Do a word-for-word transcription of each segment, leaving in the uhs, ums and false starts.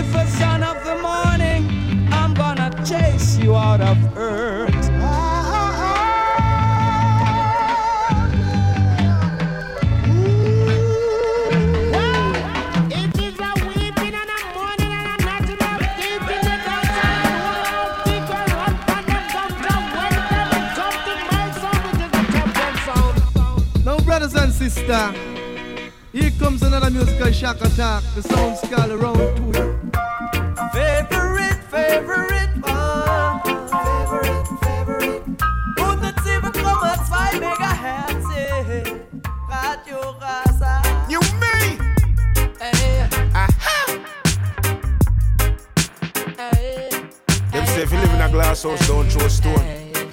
Lucifer, son of the morning, I'm gonna chase you out of earth. Brothers and sisters, here comes another musical shock attack. The sound scale around two. Favorite, favorite, oh, favorite, favorite. hundertsieben Komma zwei Megahertz, Radio Rasa. You me? Hey. Aha. Hey. Them say if you live in a glass house, don't throw a stone.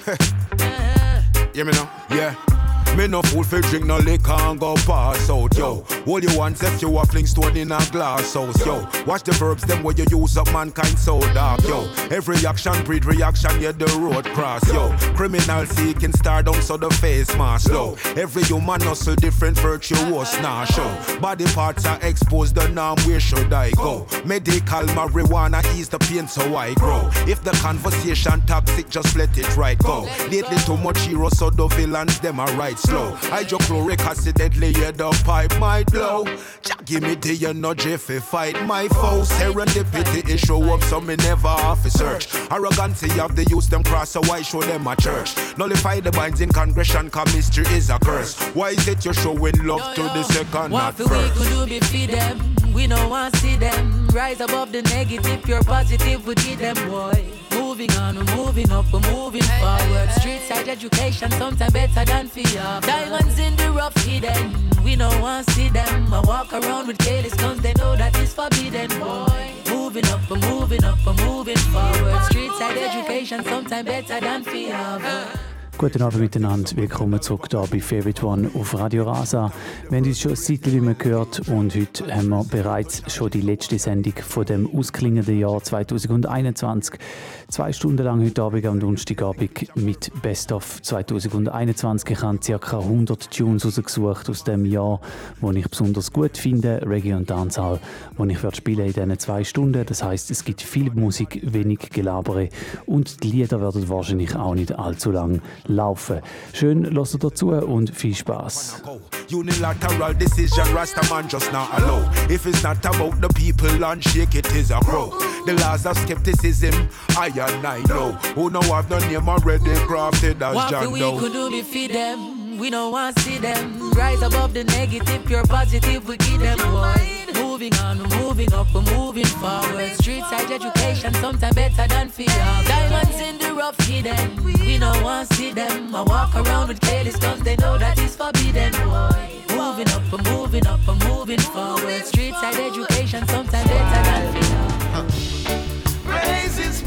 Hear me now? Yeah. Me no fool fi drink no liquor and go pass out, yo. All you want if you a fling stone in a glass house, yo. Watch the verbs, them where you use up mankind so dark, yo. Every action breed reaction, yeah, the road cross, yo. Criminal seeking stardom, so the face mask, low. Every human hustle different virtuous, nah, show. Body parts are exposed, the norm, where should I go? Medical marijuana ease the pain, so I grow. If the conversation toxic, just let it right go. Lately too much hero, so the villains, them are right slow. Hydrochloric acid deadly, yeah, the pipe might blow. Just give me the energy if fight my foes. Serendipity is show up, so me never have to search. Arrogancy of the youth, them cross, so I show them a church. Nullify the binds in congregation, cause mystery is a curse. Why is it you're showing love yo, to yo. the second, what not first? What we could do be feed them, we don't want to see them. Rise above the negative, pure positive, we need them, boy. Moving on, we're moving up, we're moving forward. Street side education, sometimes better than fear. Diamonds in the rough hidden, we don't want to see them. I walk around with careless guns, they know that it's forbidden, boy. Moving up, we're moving up, we're moving forward. Street side education, sometimes better than fear. Guten Abend miteinander, willkommen zurück hier bei Favorite One auf Radio Rasa. Wir haben uns schon ein Zeitchen nicht mehr gehört und heute haben wir bereits schon die letzte Sendung von dem ausklingenden Jahr zwanzig einundzwanzig. Zwei Stunden lang heute Abend am Donnerstagabend mit Best of zwanzig einundzwanzig. Ich habe ca. hundert Tunes rausgesucht aus dem Jahr, die ich besonders gut finde, Reggae und Dancehall, die ich werde spielen in diesen zwei Stunden. Das heisst, es gibt viel Musik, wenig Gelabere und die Lieder werden wahrscheinlich auch nicht allzu lang laufen. Schön, hört dazu und viel Spaß. Unilateral decision, Rastaman just not allow. If it's not about the people, unshake it is a crow. The laws of skepticism, I and I know. Who know I've the name already crafted as John Doe. What we could do be feed them, we don't want to see them. Rise above the negative, pure positive, we give them, boy. Moving on, we're moving up, we're moving forward. Street side education, sometimes better than fear. Diamonds in the rough hidden, we don't want to see them. I walk around with careless guns, they know that it's forbidden, boy. Moving up, we're moving up, we're moving forward. Street side education, sometimes better than fear. Praises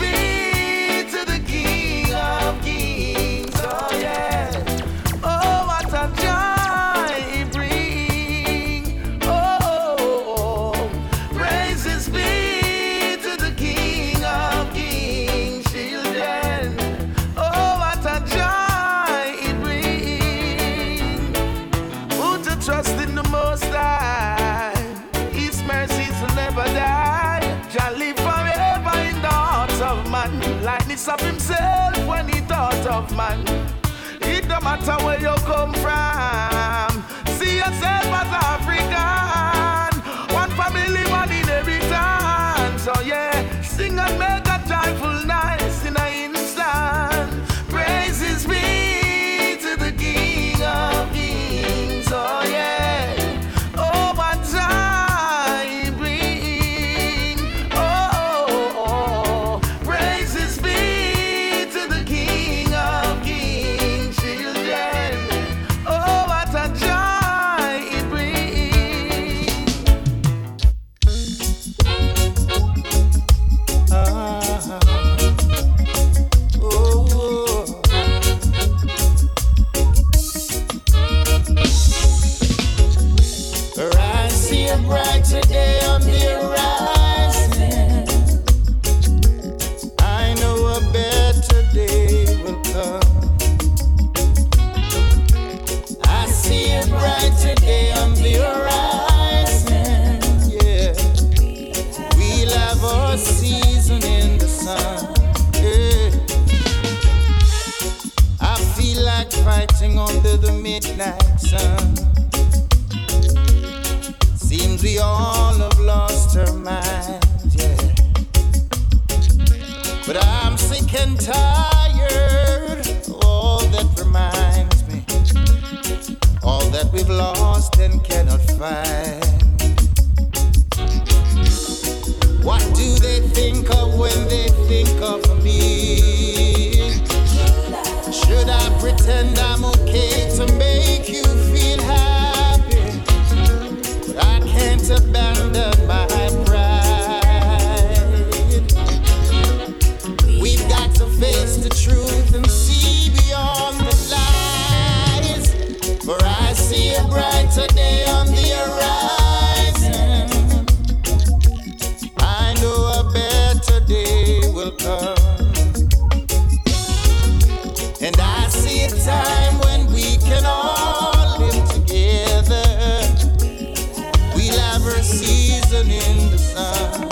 be to the King of Kings, oh yeah. Oh, what a joy it brings. Oh, praises be to the King of Kings, children. Oh, what a joy it brings. Who to trust in the Most High, His mercies will never die. Shall live forever in the hearts of man. Lightness of himself when he thought of man. It don't matter where you come from. See yourself as African. One family, one inheritance. So yeah, sing and make a joyful noise in an instant. Praises be to the King of Kings. Oh yeah. Oh, what time bring. Oh, oh, oh. Praises be to the King of Kings, children. Oh, what a joy it brings. a season in the sun. Yeah. I feel like fighting under the midnight sun. Seems we all have lost our minds, yeah. But I'm sick and tired of all that reminds me, all that we've lost and cannot find. What do they think of when they think of me? Should I pretend I'm okay to make you feel happy? But I can't abandon my pride. We've got to face the truth and see beyond the lies. For I see a brighter day on the horizon. I know a better day will come. And I see a time when we can all live together. We'll have a season in the sun.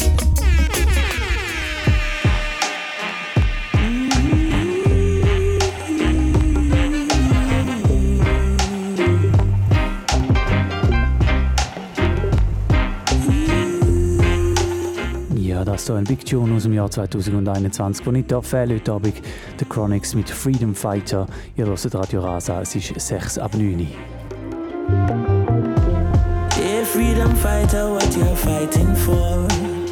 Ja, das ist hier ein Big Tune aus dem Jahr zwanzig einundzwanzig, der nicht fehlen heute Abend. The Chronics mit Freedom Fighter. Ihr hört Radio Rasa, es ist sechs ab neun. Hey, freedom fighter, what you're fighting for?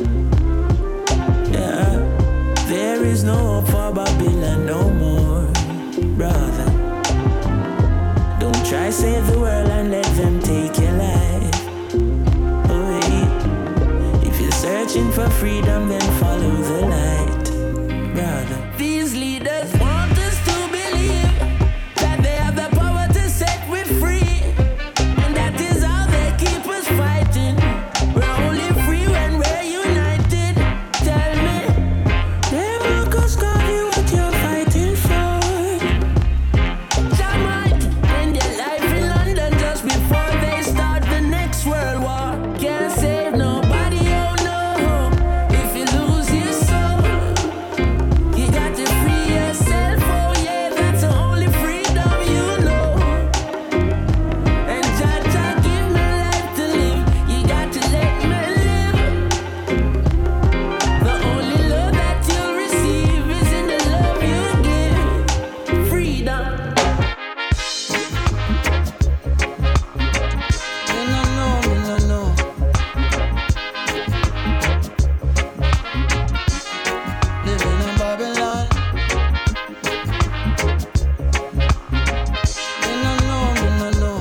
Yeah, there is no hope for Babylon no more, brother. Don't try save the world and let them take your life. Oh, hey. If you're searching for freedom, then follow the light, brother. These leaders want us to believe that they have the power to set we free, and that is how they keep us fighting. We're only free when we're united. Tell me, they make us call you what you're fighting for. Some might end their life in London just before they start the next world war. Can't save nobody, oh no. If you lose your soul, you got to free yourself, oh yeah, that's the only freedom you know. And Jah Jah give me life to live, you got to let me live. The only love that you'll receive is in the love you give. Freedom. Me no know, me no know. Living in Babylon. Me no know, me no know.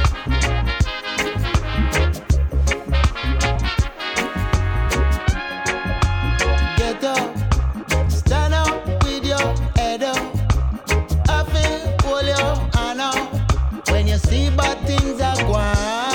Get up, stand up with your head up. I feel hold your hand up when you see bad things are going.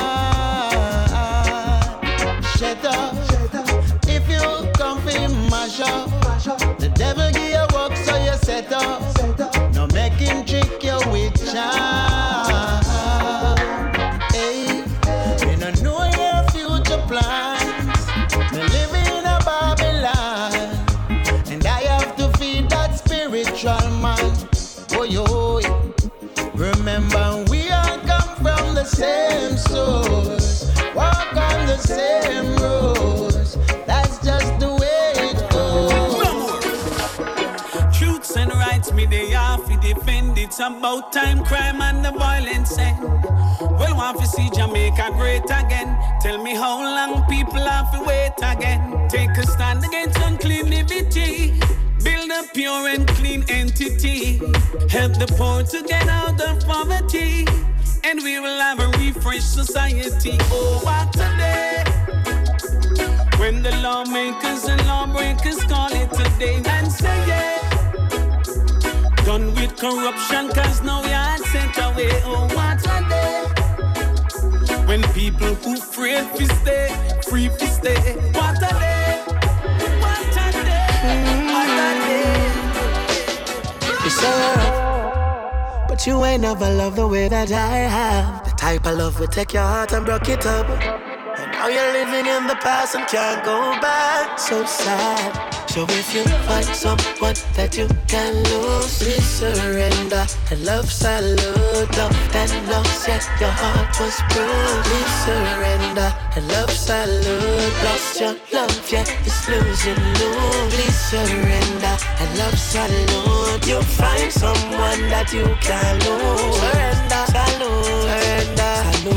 Shut up, if you come for mash up, the devil give you work so you set up. No make him trick you with charm. Hey, you don't know your future plans. Me living in a Babylon, and I have to feed that spiritual man. Oh yo, remember we all come from the same source, walk on the same roads. That's just the way it goes. Truths and rights, me they have to defend. It's about time crime and the violence end. Well, want to see Jamaica great again. Tell me how long people have to wait again. Take a stand against uncleanity. Build a pure and clean entity. Help the poor to get out of poverty. And we will have a refreshed society. Oh, what a day when the lawmakers and lawbreakers call it a day and say yeah. Done with corruption cause now you're sent away. Oh, what a day when people who afraid to stay, free to stay. What a day, what a day, what a day. It's alright, but you ain't never loved the way that I have. The type of love will take your heart and break it up. And Now you're living in the past and can't go back. So sad. So if you find someone that you can lose, please surrender. And love salute, love that lost, yet your heart was bruised. Please surrender. And love salute, lost your love, yet it's losing you. Please surrender. And love salute, you'll find someone that you can lose. Surrender, salute, surrender,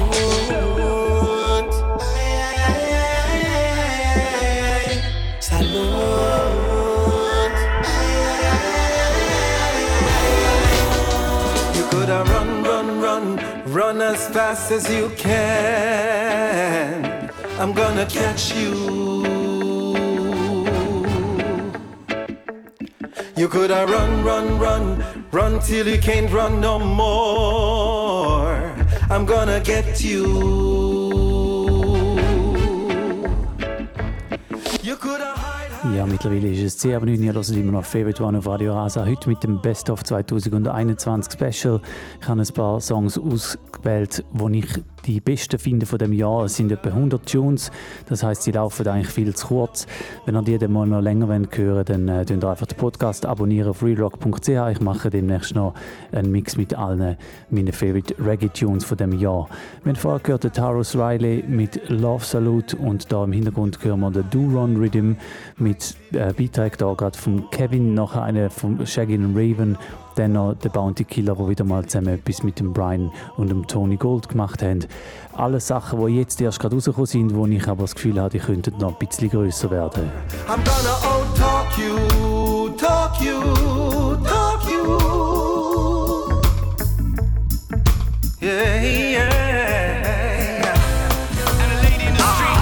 salute, salute. Run, run, run, run as fast as you can. I'm gonna catch you. You coulda run, run, run, run till you can't run no more. I'm gonna get you. You coulda. Ja, mittlerweile ist es zehn Uhr neun, ihr hört immer noch Favorite One auf Radio Rasa. Heute mit dem Best of zwanzig einundzwanzig Special. Ich habe ein paar Songs ausgewählt, die ich die besten finde von dem Jahr. Es sind etwa hundert Tunes, das heisst, sie laufen eigentlich viel zu kurz. Wenn ihr die dann mal noch länger hören wollt, dann äh, könnt ihr einfach den Podcast abonnieren auf rerock punkt c h. Ich mache demnächst noch einen Mix mit allen meinen Favorite Reggae-Tunes von dem Jahr. Wir haben vorher gehört den Tarrus Riley mit Love Salute und da im Hintergrund hören wir den Do-Run Rhythm mit äh, Beitrag da gerade von Kevin, nachher eine von Shaggy und Raven, dann noch der Bounty Killer, der wieder mal zusammen etwas mit dem Brian und dem Tony Gold gemacht haben. Alle Sachen, die jetzt erst gerade rausgekommen sind, wo ich aber das Gefühl habe, die könnten noch ein bisschen grösser werden. I'm gonna out-talk you, talk you, talk you. Yeah, yeah. And a lady in the streets.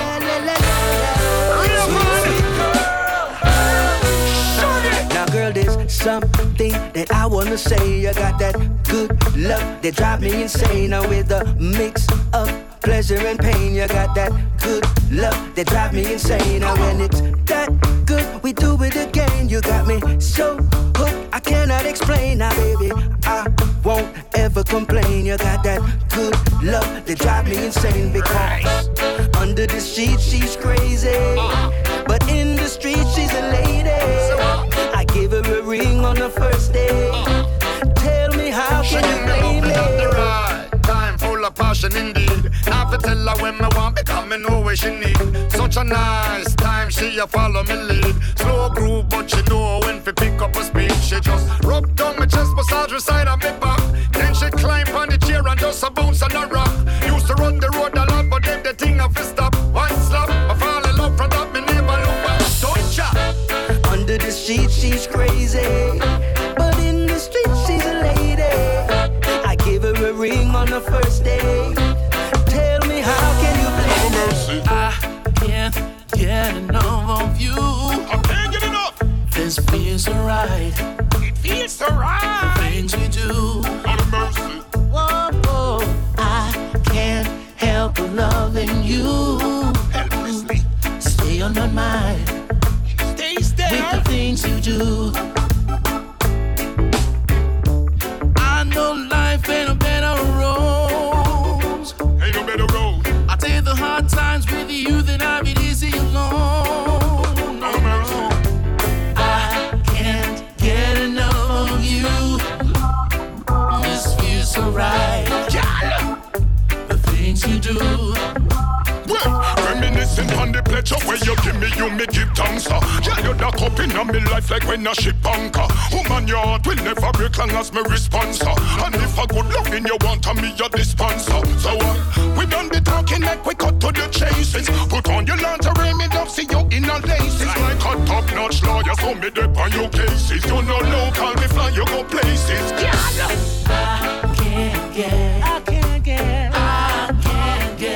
Now girl, there's something that I wanna say. You got that good love that drive me insane. Now with a mix of pleasure and pain, you got that good love that drive me insane. Now when it's that good, we do it again. You got me so hooked, I cannot explain. Now baby, I won't ever complain. You got that good love that drive me insane. Because under the sheets she's crazy, but in the street she's a lady. I gave her a ring on the first day. Tell me how can you blame me? Time full of passion indeed. Now to tell her when me want because me know what she need. Such a nice time, she a follow me lead. Slow groove but she know when to pick up a speed. She just rub down my chest, massage her side of me back. Then she climb on the chair and just a bounce on a rock. Used to run the road a lot but then the thing have to stop. One slap, I fall in love from that, me never look back. Don't chat. Under the sheets she's crazy, but in the street she's a lady. I gave her a ring on the first day. Tell me how can you blame her? I can't get enough of you. I can't get enough. This feels so right. It feels so right. The things we do. Not a mercy. Whoa, whoa. I can't help but loving you. Helplessly. Stay on my mind. Stay there. With the things you do. I know life ain't a better road. Ain't no better road. I take the hard times with you, then I've it easy alone. No mercy. I can't get enough of you. This feels so right. The things you do. Well, reminiscing on the pleasure where you give me, you me give thanks. uh. Yeah, you're the cup in my life like when a ship anchor. Woman, your heart will never break long as me response. uh. And if a good loving you want, to me your dispenser. So uh, we done the talking like we cut to the chases. Put on your lingerie, me love see you in a laces. Like a top-notch lawyer, so me dip on your cases. You know local, me fly, you go places. Yeah. I can't get, I can't get, I can't get.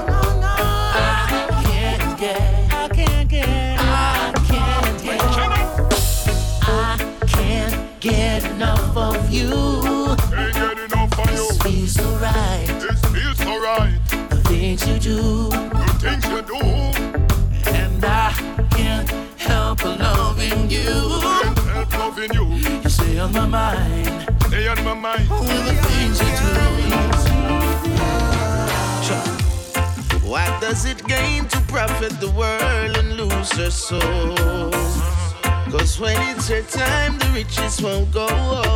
Get enough of you. Ain't get enough of you. This feels so right. This feels so right. The things you do. The things you do. And I can't help but loving you. Can't help loving you. You stay on my mind. Stay on my mind. With the things you do. What does it gain to profit the world and lose her soul? Cause when it's her time, the riches won't go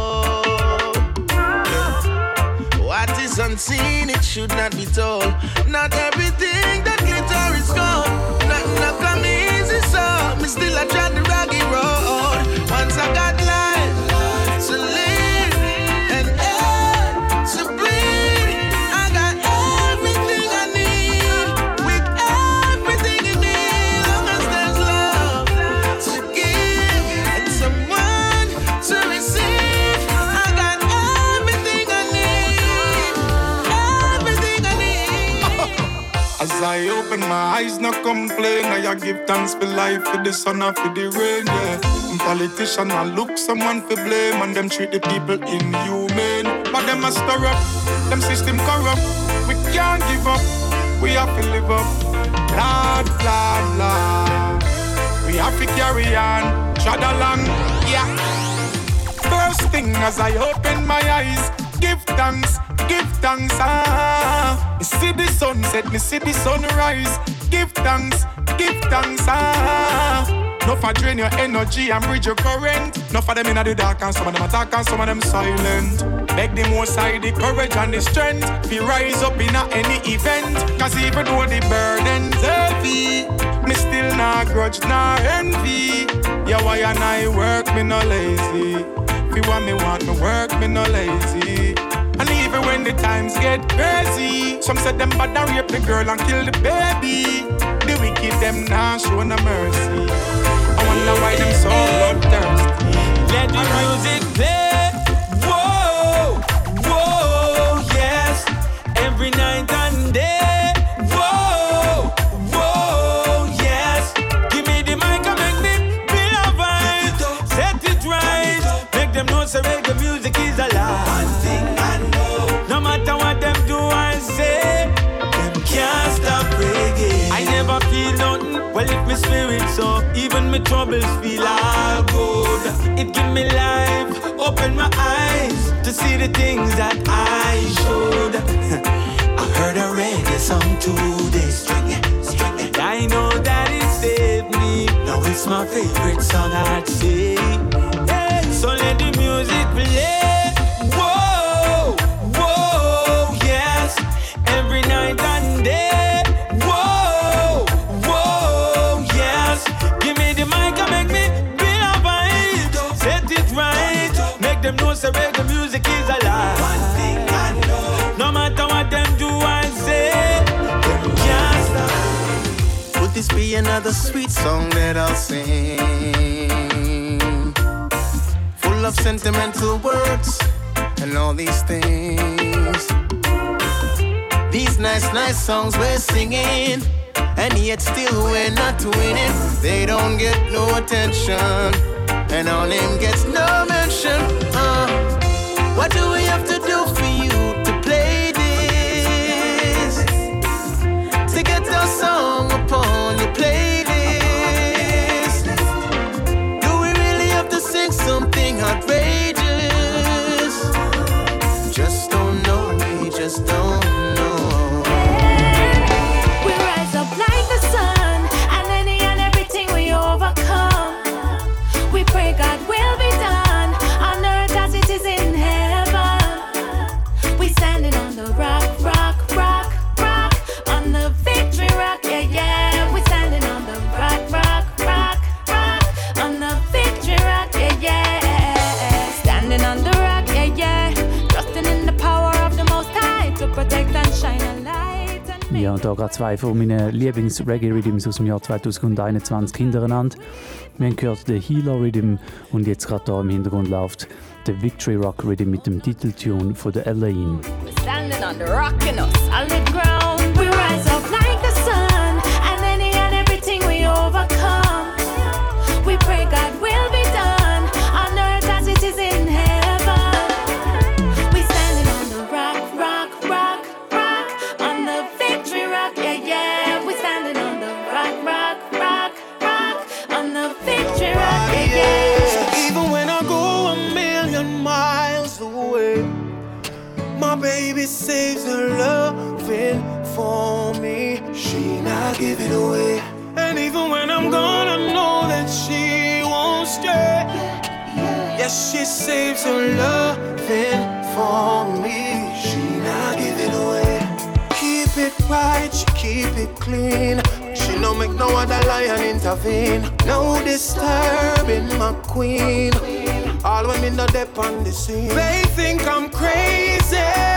on. What is unseen, it should not be told. Not everything that glitter is gold. Nothing not come easy, so me still I try the rocky road. Once I got life to live and air to breathe, I got everything I need. With everything in me, long as there's love to give and someone to receive, I got everything I need. Everything I need. As I open my eyes, no complain. I give thanks for life, for the sun and for the rain, yeah. Politician I look someone for blame, and them treat the people inhumane. But them a stir up, them system corrupt. We can't give up, we have to live up. Lord, Lord, Lord, we have to carry on, trod along, yeah. First thing as I open my eyes, give thanks, give thanks, ah. Me see the sunset, me see the sunrise. Give thanks, give thanks, ah. No for drain your energy and bridge your current. No for them in the dark and some of them attack and some of them silent. Beg the most high the courage and the strength. Be rise up in a any event. Cause even though the burden's heavy, me still not grudge nor envy. Yeah, why and I work, me no lazy. If you want me want me work, me no lazy. And even when the times get crazy, some said them bad and rape the girl and kill the baby. The wicked them now show no mercy. I wonder why them so bloodthirsty. Let the music play. Whoa, whoa, yes. Every night and day. Whoa, whoa, yes. Give me the mic and make me feel a vibe. Set it right. Make them know so reggae music is alive. One thing I know. No matter what them do I say, them can't stop reggae. I never feel nothing. Well, if my spirit so, even my troubles feel all good. It give me life, open my eyes to see the things that I should. I heard a reggae song today, string it, string it. I know that it saved me. Now it's my favorite song I'd say. Hey, so let the music play. Whoa, whoa, yes. Every night and day. Them know say reggae music is alive. One thing I know. No matter what them do I say, them can't stop. Would this be another sweet song that I'll sing? Full of sentimental words and all these things. These nice, nice songs we're singing, and yet still we're not winning. They don't get no attention, and our name gets no mention. Uh, what do we have to do for you to play this? To get our song upon your playlist? Do we really have to sing something outrageous? Just don't know, we just don't know. We rise up like the sun, and any and everything we overcome. We pray God will be done on earth as it is in heaven. We standing on the rock, rock, rock, rock, on the victory rock, yeah, yeah. We standing on the rock, rock, rock, rock, on the victory rock, yeah, yeah. Standing on the rock, yeah, yeah. Trusting in the power of the Most High to protect and shine a light. And ja, da gerade zwei von meinen Lieblings-Reggae-Rhythms aus dem Jahr zwanzig einundzwanzig hintereinander. Wir haben gehört den Healer Rhythm und jetzt gerade da im Hintergrund läuft der Victory Rock Rhythm mit dem Titeltune von der Elaine. We're standing on the rock and on solid ground. We rise up like the sun, and any and everything we overcome. We pray God will be done on earth as it is in heaven. We standing on the rock, rock, rock, rock, on the victory rock, yeah, yeah. We standing on the rock, rock, rock, rock, on the victory rock, yeah, yeah. Even when I go a million miles away, my baby saves her loving for me. give it away. And even when I'm gone, I know that she won't stay. Yes, she saves her loving For me, she not give it away. Keep it right, she keep it clean. She no make no other lion intervene. No disturbing my queen. All when me no dep on the scene. They think I'm crazy.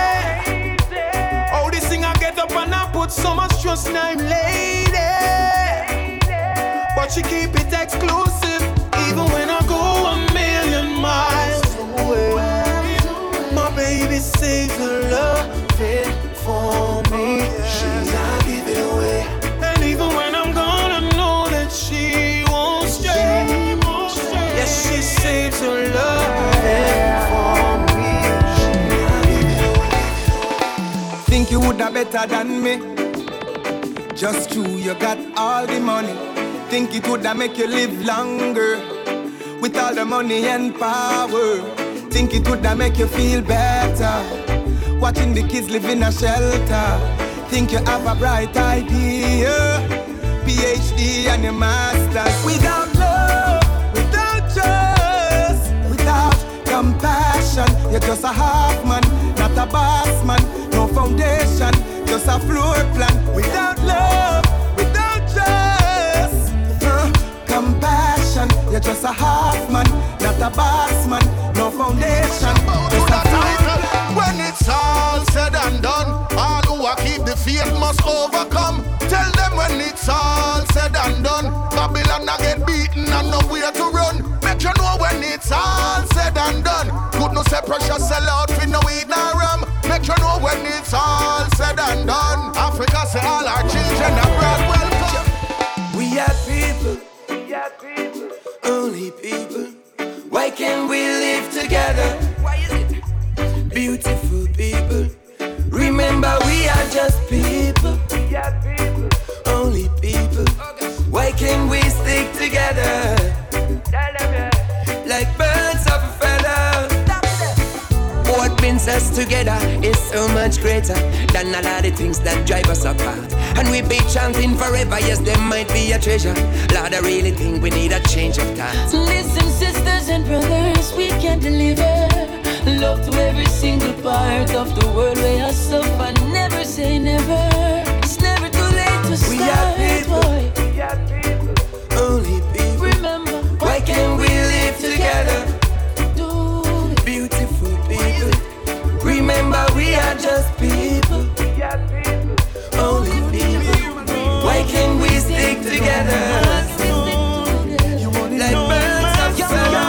Oh, this thing I get up and I put so much trust in I'm lady. But she keep it exclusive, even when I go a million miles away. My baby saves her loving for me. She not give it away. And even when I'm gone, I know that she won't stay. Yes, she saves her loving for me. She not give it away. Think you woulda better than me? Just true, you got all the money. Think it woulda make you live longer with all the money and power. Think it woulda make you feel better watching the kids live in a shelter. Think you have a bright idea, P H D and a master's. Without love, without trust, without compassion, you're just a half man, not a boss man. No foundation, just a floor plan. Without love, without trust, uh, compassion, you're just a half man, not a boss man. No foundation, just a floor plan. When it's all said and done, all who are keep the faith must overcome. Tell them when it's all said and done, Babylon a get beaten and nowhere to run. Make you know when it's all said and done. Good no say pressure sell out with no weed nor rum. Make you know when it's all said and done. Africa say all our children abroad welcome. We are people, we are people, only people. Why can't we live together? Why is it? Beautiful people. Remember we are just people. We are people, only people. Why can't we stick together? Like birds of a feather. What brings us together is so much greater than a lot of things that drive us apart. And we be chanting forever, yes, there might be a treasure. Lord, I really think we need a change of thought. Listen, sisters and brothers, we can deliver love to every single part of the world where I suffer. Never say never. It's never too late to start. We are people, boy. We are people, only people. Remember, why can't we live together? Do beautiful people. Remember we are just people. We are people, only people. Why can't we stick together? Like birds of feather.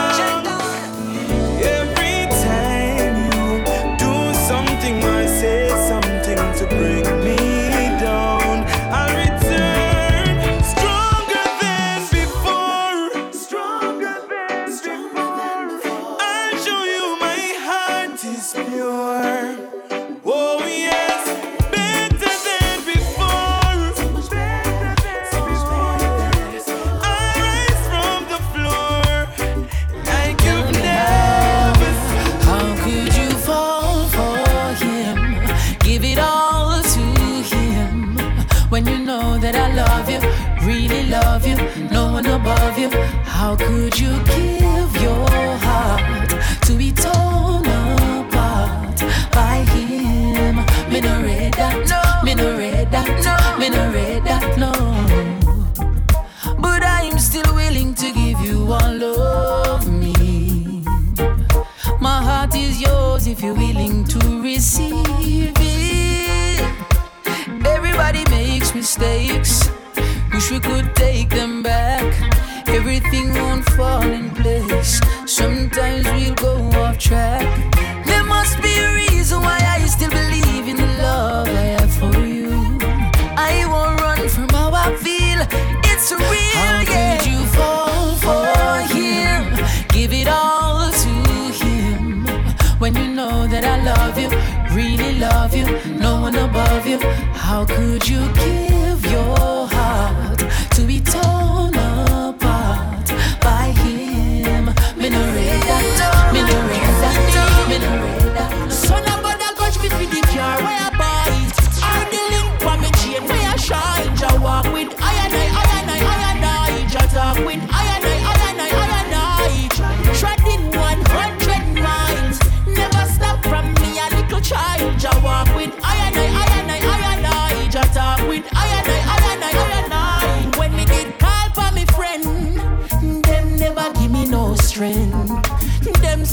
Love you, no one above you. How could you give your heart to be torn apart by him? Me no read that, no. Me no read that, no. Me no read that, no. But I'm still willing to give you all of me. My heart is yours if you're willing to receive it. Everybody makes mistakes. Wish we could take them back. Everything won't fall in place. Sometimes we'll go off track. There must be a reason why I still believe in the love I have for you. I won't run from how I feel. It's real, how yeah. Could you fall for him? Give it all to him. When you know that I love you, really love you, no one above you. How could you give your heart to be torn apart by him? Me no read that, me no read that, me no read that. Son of God, I'll catch me for the car where I buy it. All the link for me chain where I shine. I walk with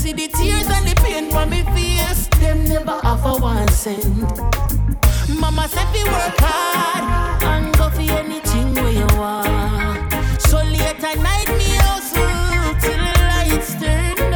see the tears and the pain from me face. Them never offer one cent. Mama said we work hard and go for anything where you want. So late at night me hustle till the lights turn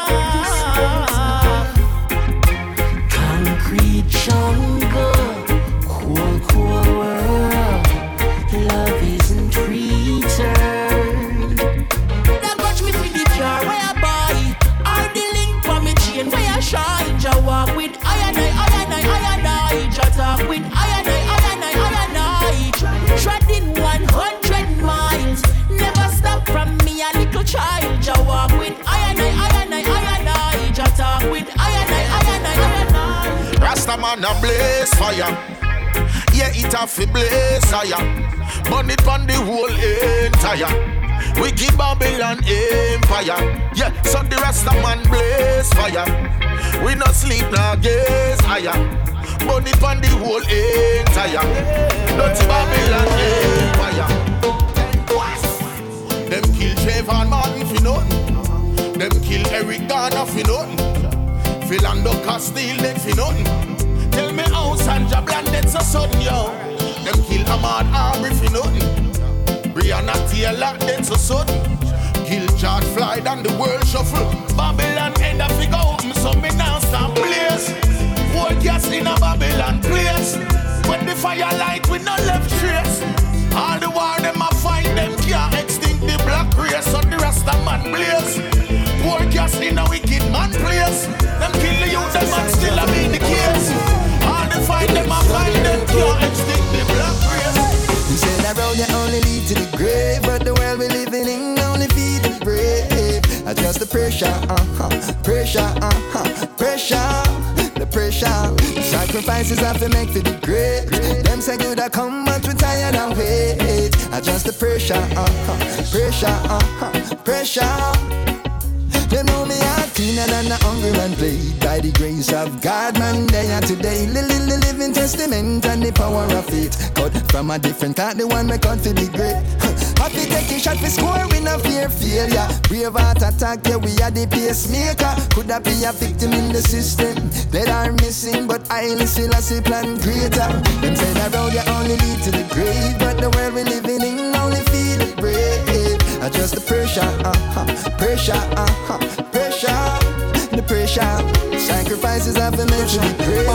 off. Concrete jungle, cool, cool world. Love isn't returned. Now watch me with the jar where I buy, or the link for me chain where I shine. Ja walk with I and I, I and I, I and I. Ja talk with I and I, I and I, I and I. Treading one hundred miles, never stop from me a little child. Ja walk with I and I, I and I, I and I. Ja talk with I and I, I and I, I and I. Rastaman a blaze fire, yeah it a fi blaze fire. Burn it on the whole entire wicked Babylon empire. Yeah, so the Rastaman blaze fire. We not sleep nor gaze higher. Burn it on the whole entire dirty Babylon empire. Them kill Trayvon Martin for nothing. Them kill Eric Garner for nothing. Philando Castile dead for nothing. Tell me how Sandra Bland dead so sudden, yo. Them kill Ahmad Arbery for nothing. Breonna Taylor dead so sudden. Kill George Floyd and the world shuffle. Babylon end up figure open, so me now start blaze. Whole gas in a Babylon place. When the fire light we no left trace. All the war them a fight, them can't extinct the black race. So the Rasta man blaze. Poor gas in a wicked man place. Them kill the youth, them man still a be the case. All the fight them a fight, them can't extinct the black race. You say that road you only lead to the grave, but the world we living in only feed the brave. Adjust the pressure, uh-huh, pressure, uh-huh, pressure, the pressure. Sacrifices have to make for the great. Them say good I come, but we tired and wait. Adjust the pressure, uh-huh, pressure, uh-huh, pressure. They know me a cleaner than a hungry man played. By the grace of God, man, they are today. Little living testament and the power of it. Cut from a different cut, the one me cut to be great. Happy taking shot for score, we no fear failure. Brave heart attack, yeah, we are the pacemaker. Could that be a victim in the system? That are missing, but I still a see plan greater. Them say that road you only lead to the grave, but the world we living in only feel it brave. Adjust the pressure, uh-huh, pressure, uh-huh, pressure, the pressure. Sacrifices have been made to the grave.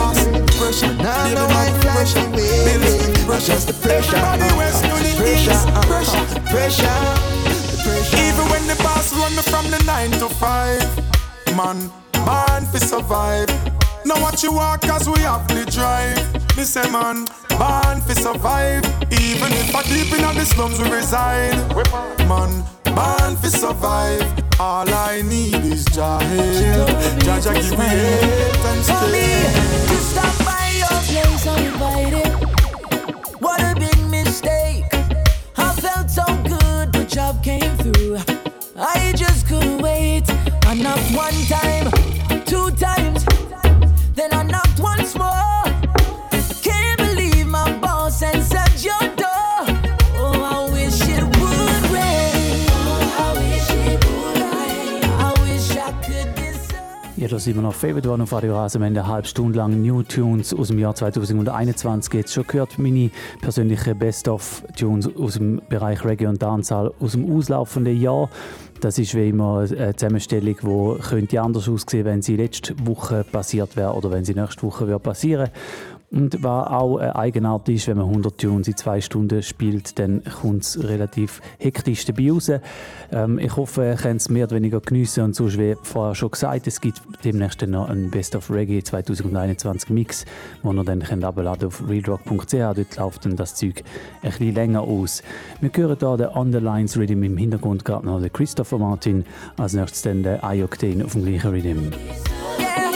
Now no white flash away. Adjust the pressure, uh-huh, pressure, uh-huh, pressure, the pressure. Even when the boss run me from the nine to five, man, born fi survive. Now watch you walk as we have the drive. Me say man, born fi survive. Even if I deep in the slums we reside. Man, born fi survive. All I need is Jah help. Jah Jah give me help and strength. To stop by your place uninvited. What a big mistake. I felt so good, the job came through. I just couldn't wait. I knocked one time, two times, then I knocked once more. Can't believe my boss answered your door. Oh, I wish it would rain. Oh, I wish it would rain. I wish I could deserve. Ja, da sind wir noch Favorite One auf Radio Rasa. Wir haben eine halbe Stunde lang New Tunes aus dem Jahr zwanzig einundzwanzig jetzt schon gehört. Meine persönlichen Best-of-Tunes aus dem Bereich Reggae und Dancehall aus dem auslaufenden Jahr. Das ist wie immer eine Zusammenstellung, die könnte anders aussehen, wenn sie letzte Woche passiert wäre oder wenn sie nächste Woche wäre passieren. Und was auch eine Eigenart ist, wenn man hundert Tunes in zwei Stunden spielt, dann kommt es relativ hektisch dabei raus. Ähm, ich hoffe, ihr könnt es mehr oder weniger geniessen. Und sonst, wie vorher schon gesagt, es gibt demnächst noch einen Best of Reggae zwanzig einundzwanzig Mix, den ihr dann herunterladen könnt auf realrock punkt c h. Dort läuft dann das Zeug ein bisschen länger aus. Wir hören hier den Underlines Rhythm im Hintergrund, gerade noch den Christopher Martin. Als nächstes dann den I-Octane auf dem gleichen Rhythm. Yeah.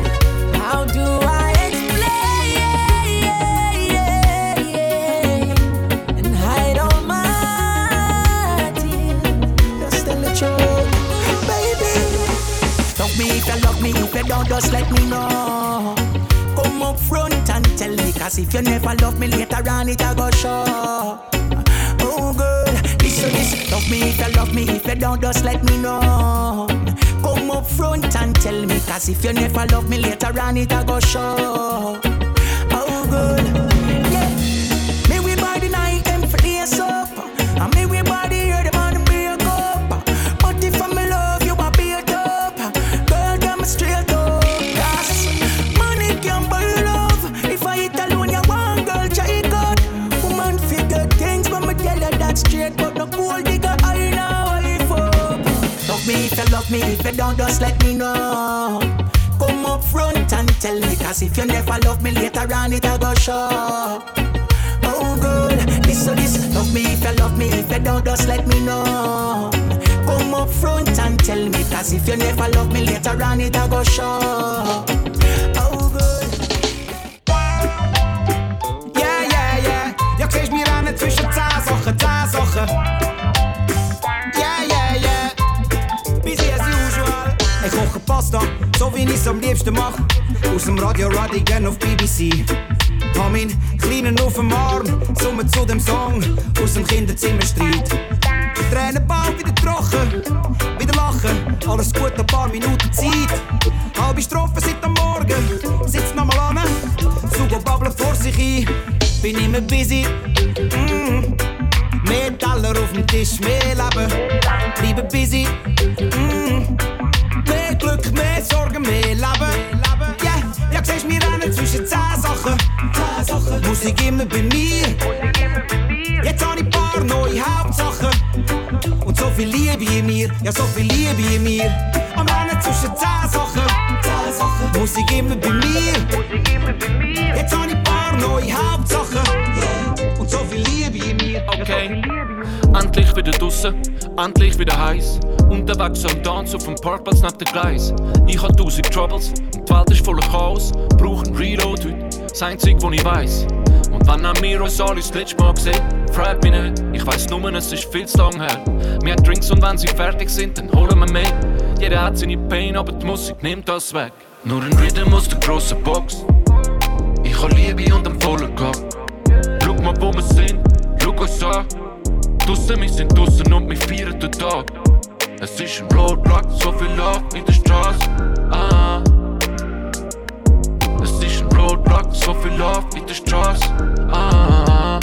How do I if you don't, just let me know. Come up front and tell me, cause if you never love me later on, it'll go show. Oh girl, listen, listen. Love me if you love me, if you don't, just let me know. Come Come up front and tell me, cause if you never love me later on it I go show. Oh good, yeah. Me we body night them for days up, and me we body hear them on the break up. But if I'm in love you I beat up, girl get me straight up. Cause money can't buy love. If I eat alone you want girl try God. Woman figure things but me tell her that straight, but no gold digger I know I fuck. Love me if you love me, if you don't just let me know. Come up front and tell me, cause if you never love me later on it I go show. Oh good, this so this. Love me if you love me, if you don't just let me know. Come up front and tell me, cause if you never love me later on it I go show. Oh good. Yeah, yeah, yeah. Jag kriegst mir an zwischen zehn Sachen, zehn Sachen. Yeah, yeah, yeah. Busy as usual. Ich koche Pasta, so wie ich's am liebsten mach. Aus dem Radio Radigan auf B B C. Hab meinen Kleinen auf dem Arm, summen zu dem Song aus dem Kinderzimmerstreit. Tränen bald wieder trocken, wieder lachen, alles gut, ein paar Minuten Zeit. Halbe Strophe seit am Morgen, sitzt nochmal an, Sugo babbelt vor sich ein, bin immer busy. Mm. Mehr Teller auf dem Tisch, mehr Leben, bleiben busy. Mm. Mehr Glück, mehr Sorgen, mehr Leben. Yeah, ja, siehst mir rennen zwischen zehn Sachen. Musik immer bei mir. Jetzt hab ich paar neue Hauptsachen. Und so viel Liebe in mir, ja so viel Liebe in mir. Am Rennen zwischen zehn Sachen. Musik immer bei mir. Jetzt hab ich paar neue Hauptsachen. Und so viel Liebe in mir. Okay, endlich wieder draussen, endlich wieder heiß. Unterwegs am Tanz auf dem Parkplatz neben dem Gleis. Ich hab tausend Troubles und die Welt ist voller Chaos. Brauch ein Reload heute, das Einzige, was ich weiss. Und wenn auch wir uns alle das letzte Mal gesehen, fragt mich nicht, ich weiss nur, es ist viel zu lang her. Wir haben Drinks und wenn sie fertig sind, dann holen wir mehr. Jeder hat seine Pain, aber die Musik nimmt das weg. Nur ein Rhythm aus der grossen Box. Ich hab Liebe und einen vollen Kopf. Schau mal, wo wir sind, schau uns an. Draussen, wir sind draussen und wir feiern den Tag. Es ist ein Roadblock, so viel Love in der Straße. Ah. Es ist ein Roadblock, so viel Love in der Straße. Ah.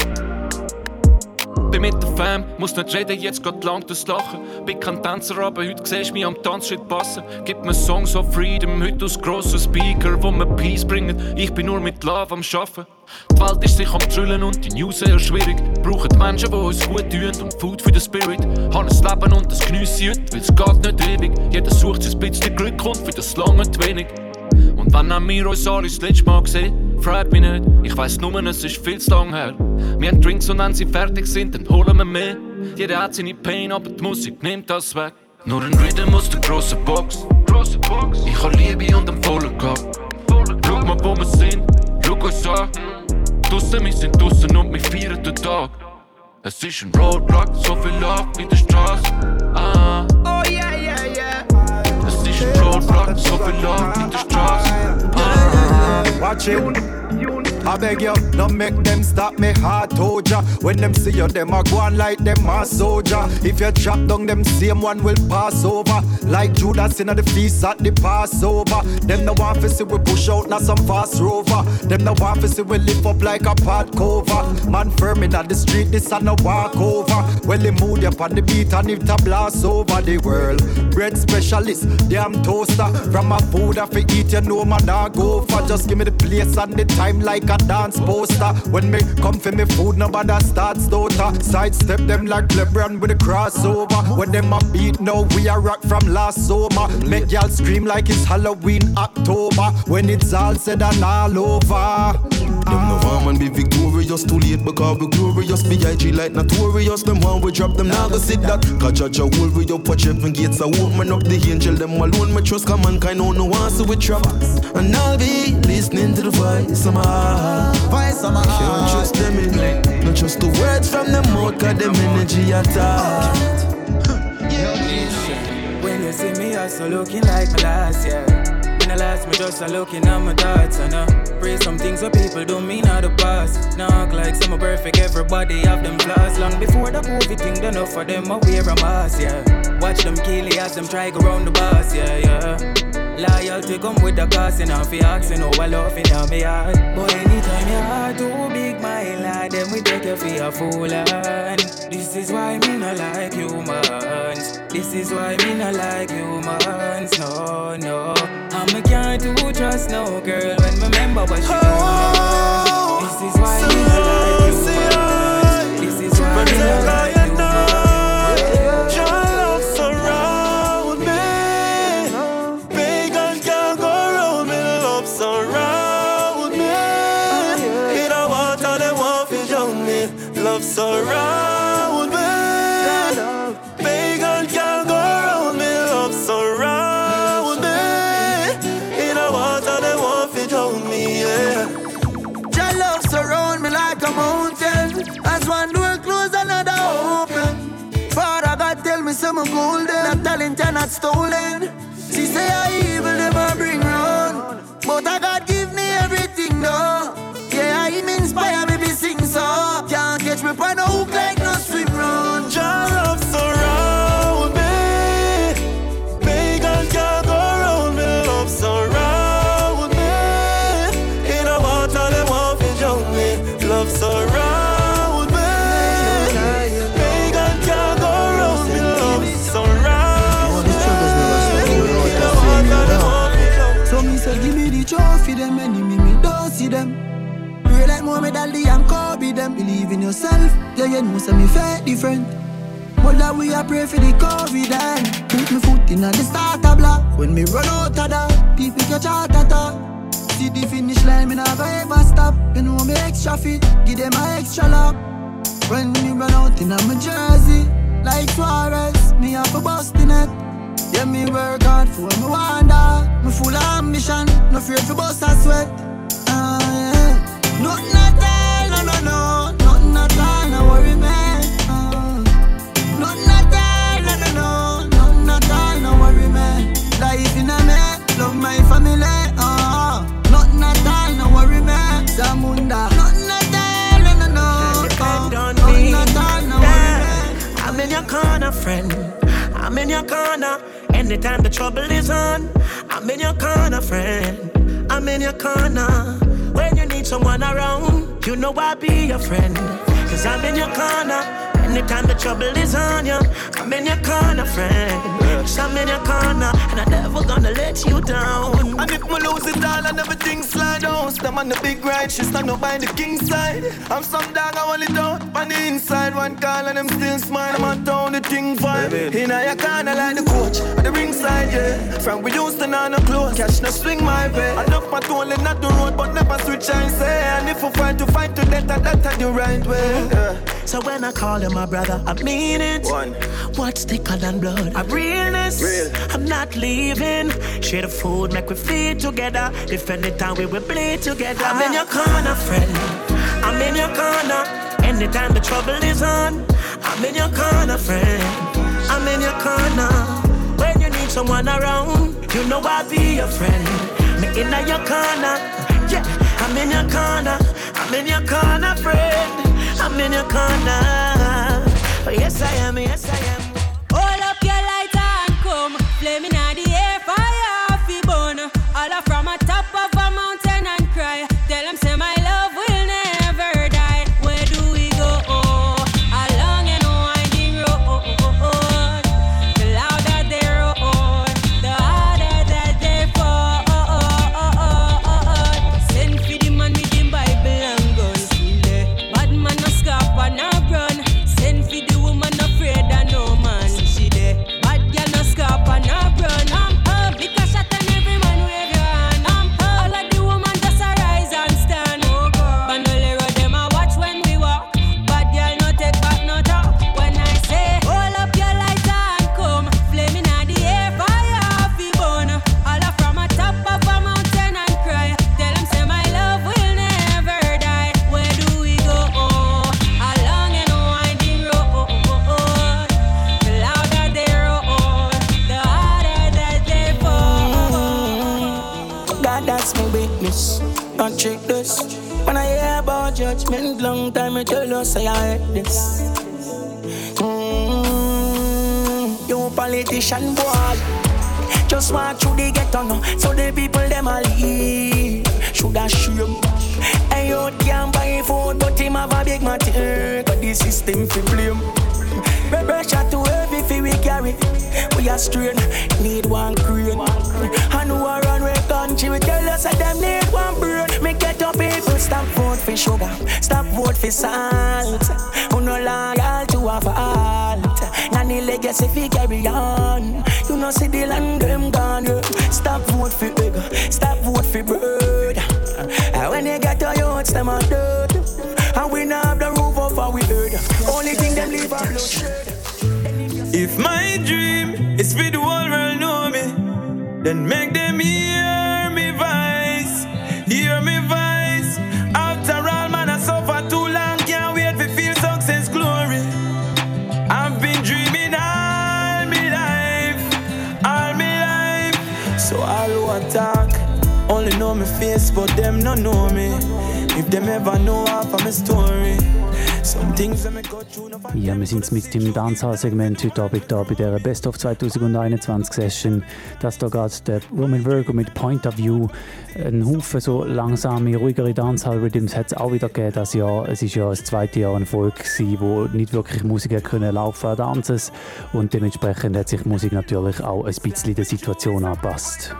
Bin mit der Fam, muss nicht reden, jetzt geht lang das Lachen. Bin kein Tänzer, aber heute siehst du mich am Tanzschritt passen. Gib mir Songs of Freedom, heute aus grossen Speaker, wo mir Peace bringen. Ich bin nur mit Love am Schaffen. Die Welt ist sich am Trüllen und die News sehr schwierig. Brauchen Menschen, die uns gut tun und Food für den Spirit. Haben ein Leben und das geniesse ich heute, weil es geht nicht ewig. Jeder sucht sein bisschen Glück und für das lange zu wenig. Und wenn auch wir uns alle das letzte Mal gesehen, fragt mich nicht, ich weiss nur, es ist viel zu lang her. Wir haben Drinks und wenn sie fertig sind, dann holen wir mehr. Jeder hat seine Pain, aber die Musik nimmt das weg. Nur ein Rhythm aus der grossen Box. Ich hab Liebe und einen vollen Kopf. Schau mal, wo wir sind, schau uns an. Draussen, wir sind draussen und wir feiern den Tag. Es ist ein Roadblock, so viel Love in der Straße. Ah. Oh yeah, yeah, yeah. Es ist ein Roadblock, so viel Love in der Straße. Ah. Watch it. I beg you, don't make them stop me heart, told ya. When them see you, them a go on like them a soldier. If you chop down, them same one will pass over. Like Judas in the feast at the Passover. Them no want to see we push out, not some fast rover. Them no want to see we lift up like a pot cover. Man firm in the street, this a no walk over. Well, they mood up on the beat and it a blast over the world. Bread specialist, damn toaster. From my food I fi eat, you know man I go for. Just give me the place and the time like a dance poster. When me come for me food, nobody starts daughter. Sidestep them like LeBron with a crossover. When them a beat now, we a rock from last summer. Make y'all scream like it's Halloween October. When it's all said and all over. Them no want man be victorious, too late because we glorious. B I G like notorious, them want we drop them now go sit that. Cause judge a hold we up, watch heaven gates a open up the angel, them alone me trust, cause mankind no no want so we trap. And I'll be listening to the voice of my heart. Voice of my heart. Can't trust them in, not just the words from them mouth, cause them energy attack. When you see me, I so looking like my last year. analyze me just a looking at my thoughts. And I pray some things where people don't mean out the past. Now act like some are perfect, everybody have them flaws. Long before the COVID thing, done enough for them, I wear a mask, yeah. Watch them kill it as them try go round the bus, yeah, yeah. Loyalty come with the cost, and if you asking how I love in my heart. But anytime your heart too big, my lad, then we take you for a fool. And this is why me not like humans. This is why me not like humans. No, no. And me can't do trust no girl when me remember what she oh, done. This is why me not like humans. This is why me not like humans. Surround me, pagan can't go round me. Love surround me. In a water they want to drown me, yeah. Your love surround me like a mountain. As one door close, another open. Father God tell me some golden, that talent are not stolen. She say I evil never bring round, but I God give me everything though. Yeah, Him inspire me to sing so. Can't catch me by no hook like no swim run. Your love surround me. Pagan can't go round me. Love surround me. In a water they want to drown me. Love surround me. Pagan can't go round me. Love surround me. In a water they want to drown me. So me say give me the trophy, them enemy me don't see them. Real like Muhammad Ali and Kobe, them believe in yourself. Yeah, you know, say me fair different. But that we a pray for the COVID and put me foot in on the starter block. When me run out of that, people catch heart attack. See the finish line, me never ever stop. You know me extra fit, give them a extra lap. When me run out in on my jersey, like Suarez, me have a bust in it. Yeah, me work hard for me wonder. Me full of ambition, no afraid to bust a sweat. Ah, yeah. Nothing at all, no, no, no. Nothing at all, no worry, man. Uh, nothing at all, no, no, no. Nothing at all, no worry, man. Life in a man, love my family. Uh, nothing at all, no worry, man. Zamunda. Nothing at all, no, no, no. Uh, nothing at all, no worry, man. I'm in your corner, friend. I'm in your corner. Anytime the trouble is on, I'm in your corner, friend. I'm in your corner. When you need someone around, you know I'll be your friend. Cause I'm in your corner. Anytime the trouble is on you, I'm in your corner, friend. Cause I'm in your corner, and I'm never gonna let you down. And if me lose it all and everything slide down, stand on the big ride, she stand up by the king side. I'm some dog, I want it out on the inside. One call and I'm still smile, I'm on town, the thing fine. In your corner like the coach, at the ringside, yeah. From we used to know no close, catch no swing my way. I love my tool and not the road, but never switch and say. And if we fight to fight to death, that's the right way, yeah. So when I call you my brother, I mean it. One. What's thicker than blood? I'm realness. Real. I'm not leaving. Share the food, make we feed together. If anytime we will bleed together. I'm in your corner, friend. I'm in your corner. Anytime the trouble is on, I'm in your corner, friend. I'm in your corner. When you need someone around, you know I'll be your friend. Me in your corner. Yeah, I'm in your corner. I'm in your corner, friend. I'm in your corner. Oh, yes, I am, yes, I am. Hold up your lighter and come. Flaming on the air, fire off the bone. All from a top of a mountain and cry. Tell them, say my love will never die. Where do we go? Oh, along and winding road. The louder they roar, the harder that they fall. Send for the man with the Bible and guns. Bad man no scarp and no run. Send for the woman afraid and no Now check this. When I hear about judgment, long time I tell you say I hate this. Mm, you politician boy, just walk through the ghetto now, so the people them a leave. Shoulda shame. Hey, you can't buy food, but him have a big matter. Cause the system fi blame. Pressure too heavy fi we carry. We a strain, need one crane. And who a run with country, we tell us that them need one brain. Me get up people, stop vote for sugar, stop vote for salt. Who no loyal to a fault. Nanny legacy fi carry on. You know see the land them gone. Stop vote for egg, stop vote for bird. And when you get to youths, them are dead. And we now have the roof over we heard. Only thing them leave are bloodshed. If my dream is for the whole world know me, then make them hear me voice, hear me voice. After all, man, I suffer too long, can't wait to feel success glory. I've been dreaming all my life, all my life. So all who attack only know me face, but them no know me. If them ever know half of my story. Some things that me go through. Ja, wir sind mit dem Dancehall-Segment heute Abend da bei der Best of zwanzig einundzwanzig Session. Das da geht der Roman Virgo mit Point of View. Ein Haufen so langsame, ruhigere Dancehall-Rhythms hat es auch wieder gegeben das Jahr. Es war ja das zweite Jahr ein Volk gewesen, wo nicht wirklich Musiker können laufen an Dances. Und dementsprechend hat sich die Musik natürlich auch ein bisschen der Situation angepasst.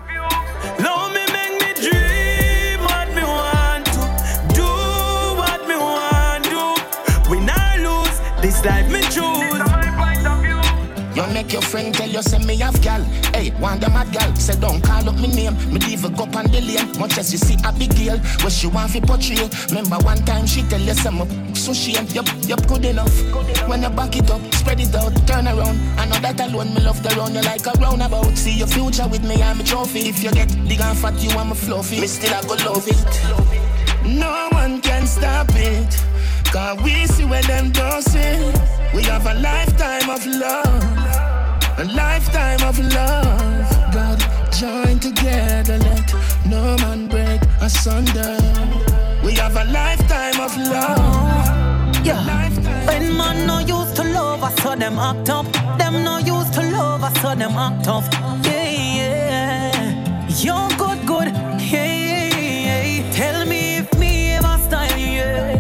This life me choose. You make your friend tell you say me have gal. Hey, want the mad gal, say don't call up me name. Me leave a go on the lane. Much as you see a big girl, where she want fi portray. Remember one time she tell you some so shame. Yup, yup, good enough. When you back it up, spread it out, turn around. I know that alone me love to run you like a roundabout. See your future with me, I'm a trophy. If you get big and fat, you want me fluffy. Me still I go love it. No one can stop it. Cause we see where them don't see. We have a lifetime of love, a lifetime of love. God, join together, let no man break asunder. We have a lifetime of love. Yeah, when man no used to love us, so them act up. Them no used to love us, so them act up. Yeah, yeah, you're good, good. Yeah, yeah, yeah. Tell me if me ever style you, yeah.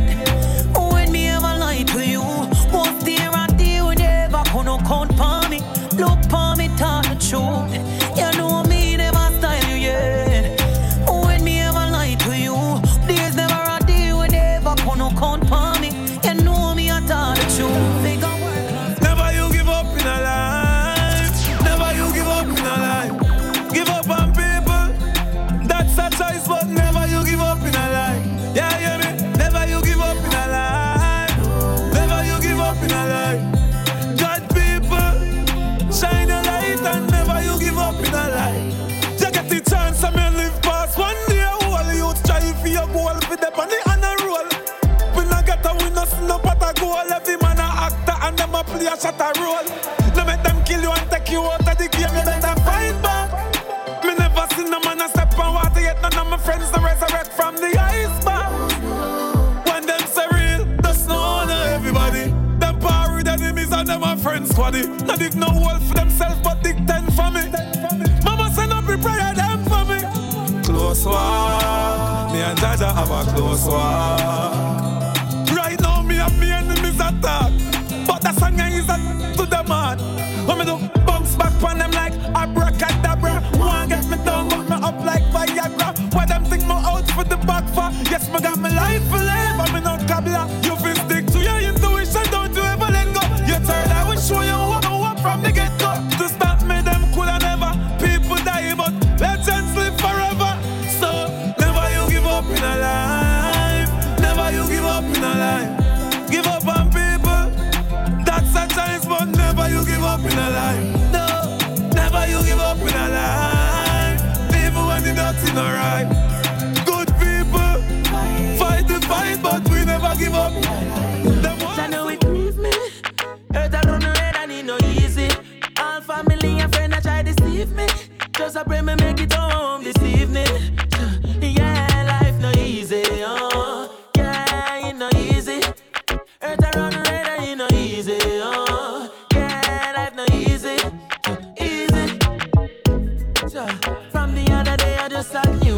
To you, what's there I do? Never gonna count for me. Look for me, tell the truth. You know me never style you yet. When me ever lie to you, there's never a day when never gonna count for me. You know me, I tell the truth. Never you give up in a life. Never you give up in a life. Give up on people. That's a choice, but never you give up in a life. Yeah, hear me? Never you give up in a life. In a life, God people, shine a light and never you give up in a life. You get the chance to me live past one day. All you try for your goal, for them on the honor roll. We not get a win, us no pot a goal. Every man a actor and them a play a shot a role. No make them kill you and take you out of the game. You better fight back. Me never seen no man a step on water yet. None of my friends no resurrect from the iceberg. When them say real, that's no honor everybody. Enemies and them a friends squaddy. Not dig no wolf for themselves, but dig ten for me. Mama send up a prayer them for me. Close walk, me and Jaja have a close walk. Right now me and me enemies attack, but the song is a to the man. When me do bounce back on them like abracadabra. One get me down, but me up like Viagra. Why them think me out for the back for? Yes, me got my life for life, but me not cabla. You feel stick to your intuition, don't you ever let go. You turn, I will show you what I want from the get-go. To stop me, them could have never. People die, but legends live forever. So, never you give up in a life. Never you give up in a life. Give up on people. That's a chance, but never you give up in a life. No, never you give up in a life. Even when the nothing alright. Good people, fight the fight, but we never give up. I know it leave me. Hurt around the red and it no easy. All family and friends that try to deceive me. Just a pray me make it home this evening. Yeah, life no easy.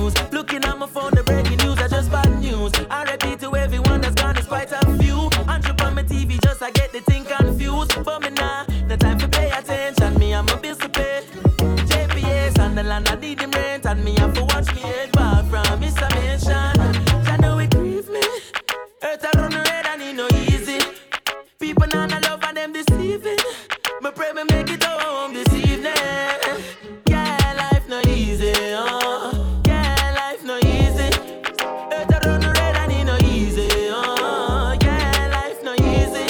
news. Looking at my phone, the breaking news are just bad news. I repeat to everyone that's gone, it's quite a few. Untrip on my T V, just I get the thing confused. But me nah, no time to pay attention. Me, I'm a bill to pay. J P S and the land I need them rent. And me have to watch me head back from Mister Mansion. I know it grieve me. Earth I run red and it no easy. People now I love and them deceiving. Me pray me make it home this evening. Yeah, life no easy, oh. Yeah, life no easy. Earth I run red and it no easy, oh. Yeah, life no easy.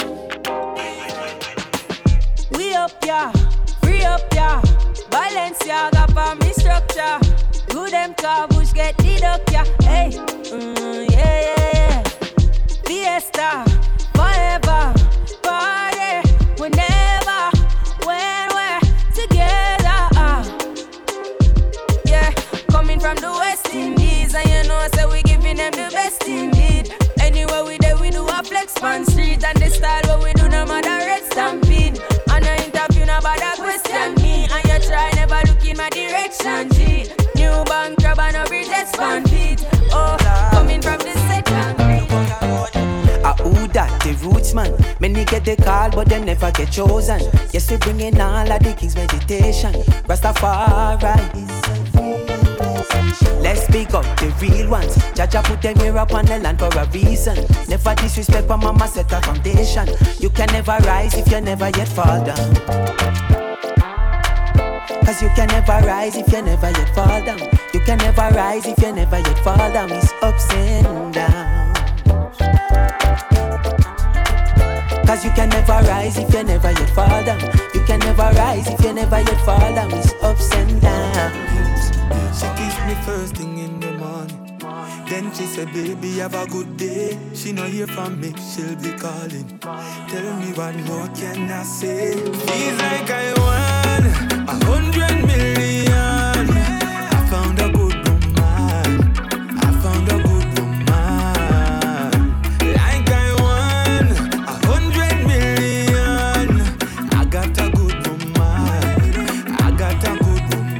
We up, yeah. Free up, yeah. Balenciaga for me structure. Good them car bush get deduct, yeah. Hey, mm, yeah, yeah, yeah. Fiesta, forever. Party, whenever, when we're together. Uh. Yeah, coming from the West Indies, and you know, so we giving them the best indeed. Anywhere we there, we do a flex on street, and the style what we do, no matter red stampede. And I interview, no bother question me, and you try never look in my direction, G. New bank crab and a bridge expand feet. Oh, coming from the second grade. Ah, who that? The roots man. Many get the call, but them never get chosen. Yes, we bring in all of the king's meditation. Rastafari. Let's speak up the real ones. Jaja put them here up on the land for a reason. Never disrespect, but mama set a foundation. You can never rise if you never yet fall down. Cause you can never rise if you never yet fall down. You can never rise if you never yet fall down. It's ups and downs. Cause you can never rise if you never yet fall down. You can never rise if you never yet fall down. It's ups and downs. She kissed me first thing in the morning. Then she said, baby, have a good day. She no hear from me, she'll be calling. Tell me what more can I say? Feels like I won a hundred million. I found a good woman. I found a good woman. Like I won a hundred million. I got a good woman. I got a good woman.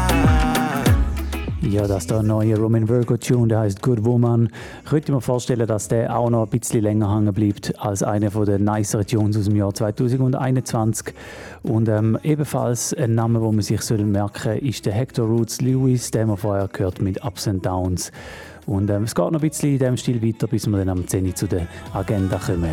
Ja, das ist der neue Roman Virgo Tune, der heißt Good Woman. Ich könnte mir vorstellen, dass der auch noch ein bisschen länger hängen bleibt als einer der niceren Tunes aus dem Jahr zwanzig einundzwanzig. Und ähm, ebenfalls ein Name, den man sich merken soll, ist der Hector Roots Lewis, den wir vorher gehört mit Ups and Downs. Und ähm, es geht noch ein bisschen in diesem Stil weiter, bis wir dann am zehn zu der Agenda kommen.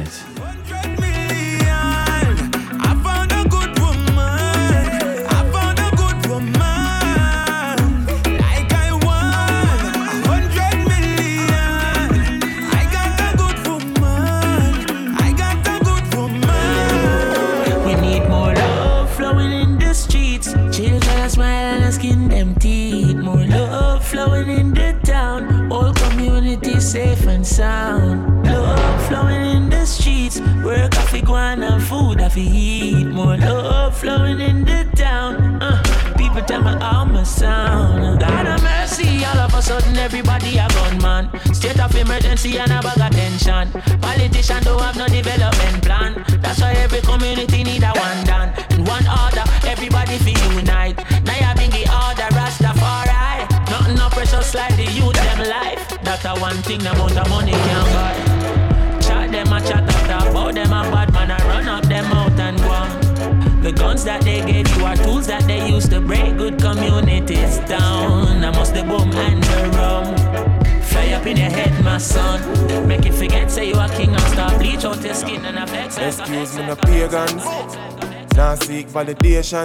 Skin them teeth, more love flowing in the town. All community safe and sound. Love flowing in the streets. Work off the guan and food off the heat. More love flowing in the town. Uh, people tell me how my sound. God have mercy, all of a sudden everybody a gunman. State of emergency and a bag of tension. Politicians don't have no development plan. That's why every community need a one done. And one order, everybody feel unite. Now you bring the order, Rastafari. Nothing no precious like the youth them life. That's a one thing the amount of money can buy. Chat them a chat up about them a bad man. I run up them out and go on. The guns that they gave you are tools that they use to break good communities down. I must the boom and the rum. Fly up in your head, my son. Make it forget, say you a king and start bleach out your skin and affect. Excuse me, no pagans. Now seek validation.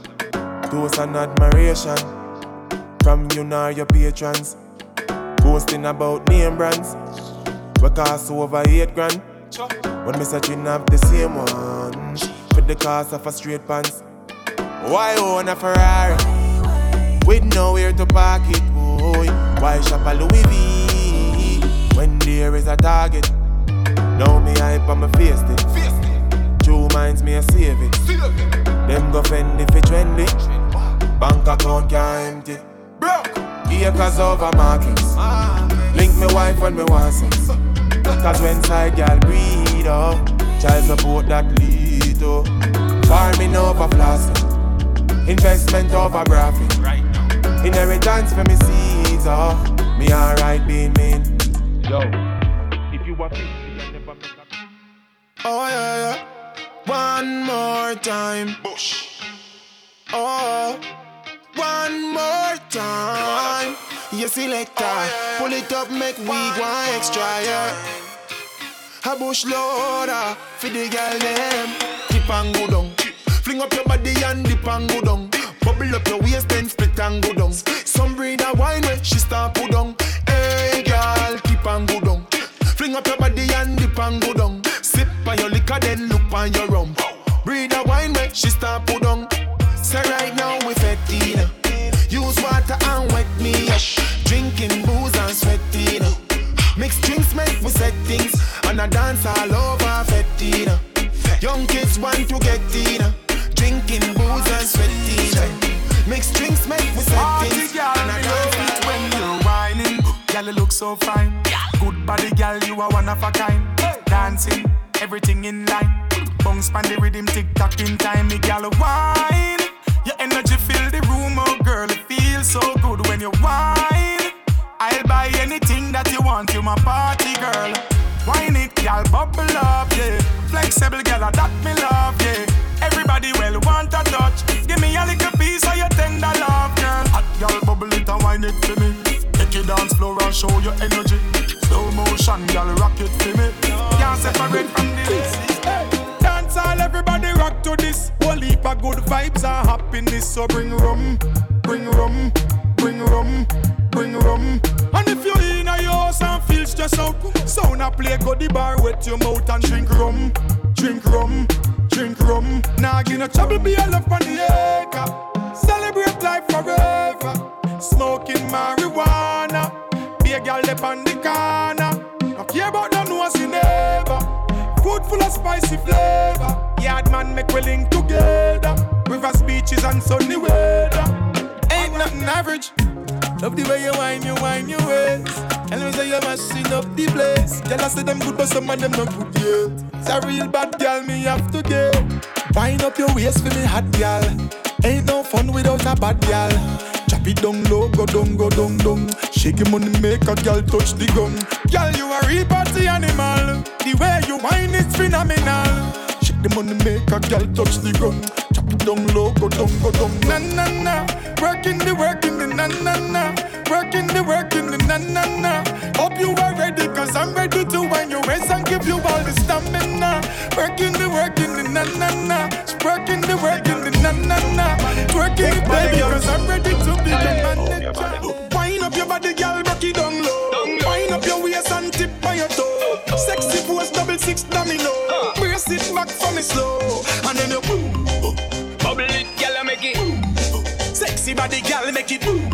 Toast and admiration from you nor your patrons. Boasting about name brands. We cost over eight grand. When me searching up the same one with the cost of a straight pants. Why own a Ferrari with nowhere to park it, boy? Why shop a Louis V when there is a Target? Now me hype on my face it. Two minds me a save it. Them go fend if it trendy. Bank account can't empty. Broke acres over markets. Link me wife when me want sex. Cause when side girl breed up, child support that lead to farming over plastic, investment over graphic. Inheritance for me seeds, oh. Me alright being mean. Yo, if you want me, you never make a... Oh yeah, yeah. One more time. Bush. Oh, one more time. You selector, oh, yeah. Pull it up, make we go extra, yeah. A bush loader, for the girl them. Dip and go down. Fling up your body and dip and go down. Bubble up your waist then split and go down. Some breed a wine when she start put down. Hey girl, dip and go down. Fling up your body and dip and go down. Sip on your liquor then look on your rum. Breed a wine when she start put down. So right now we fetting. Use water and wet me up. Drinking booze and sweating. Mix drinks make we set things. And I dance all over fetting. Young kids want to get in. Drinking booze and sweating. Mix drinks make we set things. And I dance all when you're whining. Girl, you look so fine. Good body, girl, you are one of a kind. Dancing, everything in line. Bounce pan the rhythm, tick-tock in time. Me girl, wine. Your energy fill the room, oh girl. It feels so good when you whine. I'll buy anything that you want. You my party girl. Wine it, girl, bubble up, yeah. Flexible girl, that me love, yeah. Everybody well want a touch. Give me a little piece of your tender love, girl. Hot girl, bubble it and wine it for me. Take it dance floor and show your energy. Slow motion, girl, rock it for me. Can't separate from this. Hey. Dance all, everybody rock to this. Whole heap of good vibes and happiness. So bring rum, bring rum, bring rum, bring rum. And if you're in a house and feel stressed out, sound a play, go the bar, wet your mouth and drink rum, drink rum, drink rum. Nah, give no trouble, be a love on the acre. Celebrate life forever. Smoking marijuana. Be a girl up on the corner. Don't care about no nose you never. Food full of spicy flavor. Yard man make we link together. Rivers, beaches and sunny weather. Ain't nothing average. Love the way you whine, you whine your waist. And me say you mashing up the place. Girl, I say them good, but some of them not good yet. It's a real bad girl, me have to get. Wind up your waist for me hot girl. Ain't no fun without a bad girl. Chop it down low, go down, go down, down. Shake your money, make a girl touch the gun. Girl, you a real party animal. The way you whine is phenomenal. Shake the money, make a girl touch the gun. Chop it down low, go down, go down. Na na na, working the working the na na na, working the working the na na na. Hope you are ready, cause I'm ready to wind your waist and give you all the stamina. Working the working the na na na, working the working the na na na. Working it baby, cause I'm ready to be the manager. Wind up your body, girl, rock it down low. Wind up your waist and tip on your toe. Sexy pose, double six domino. Brace it back for me slow, and then you boom. Bubble it, girl, make it boom. Sexy body, girl, make it boom.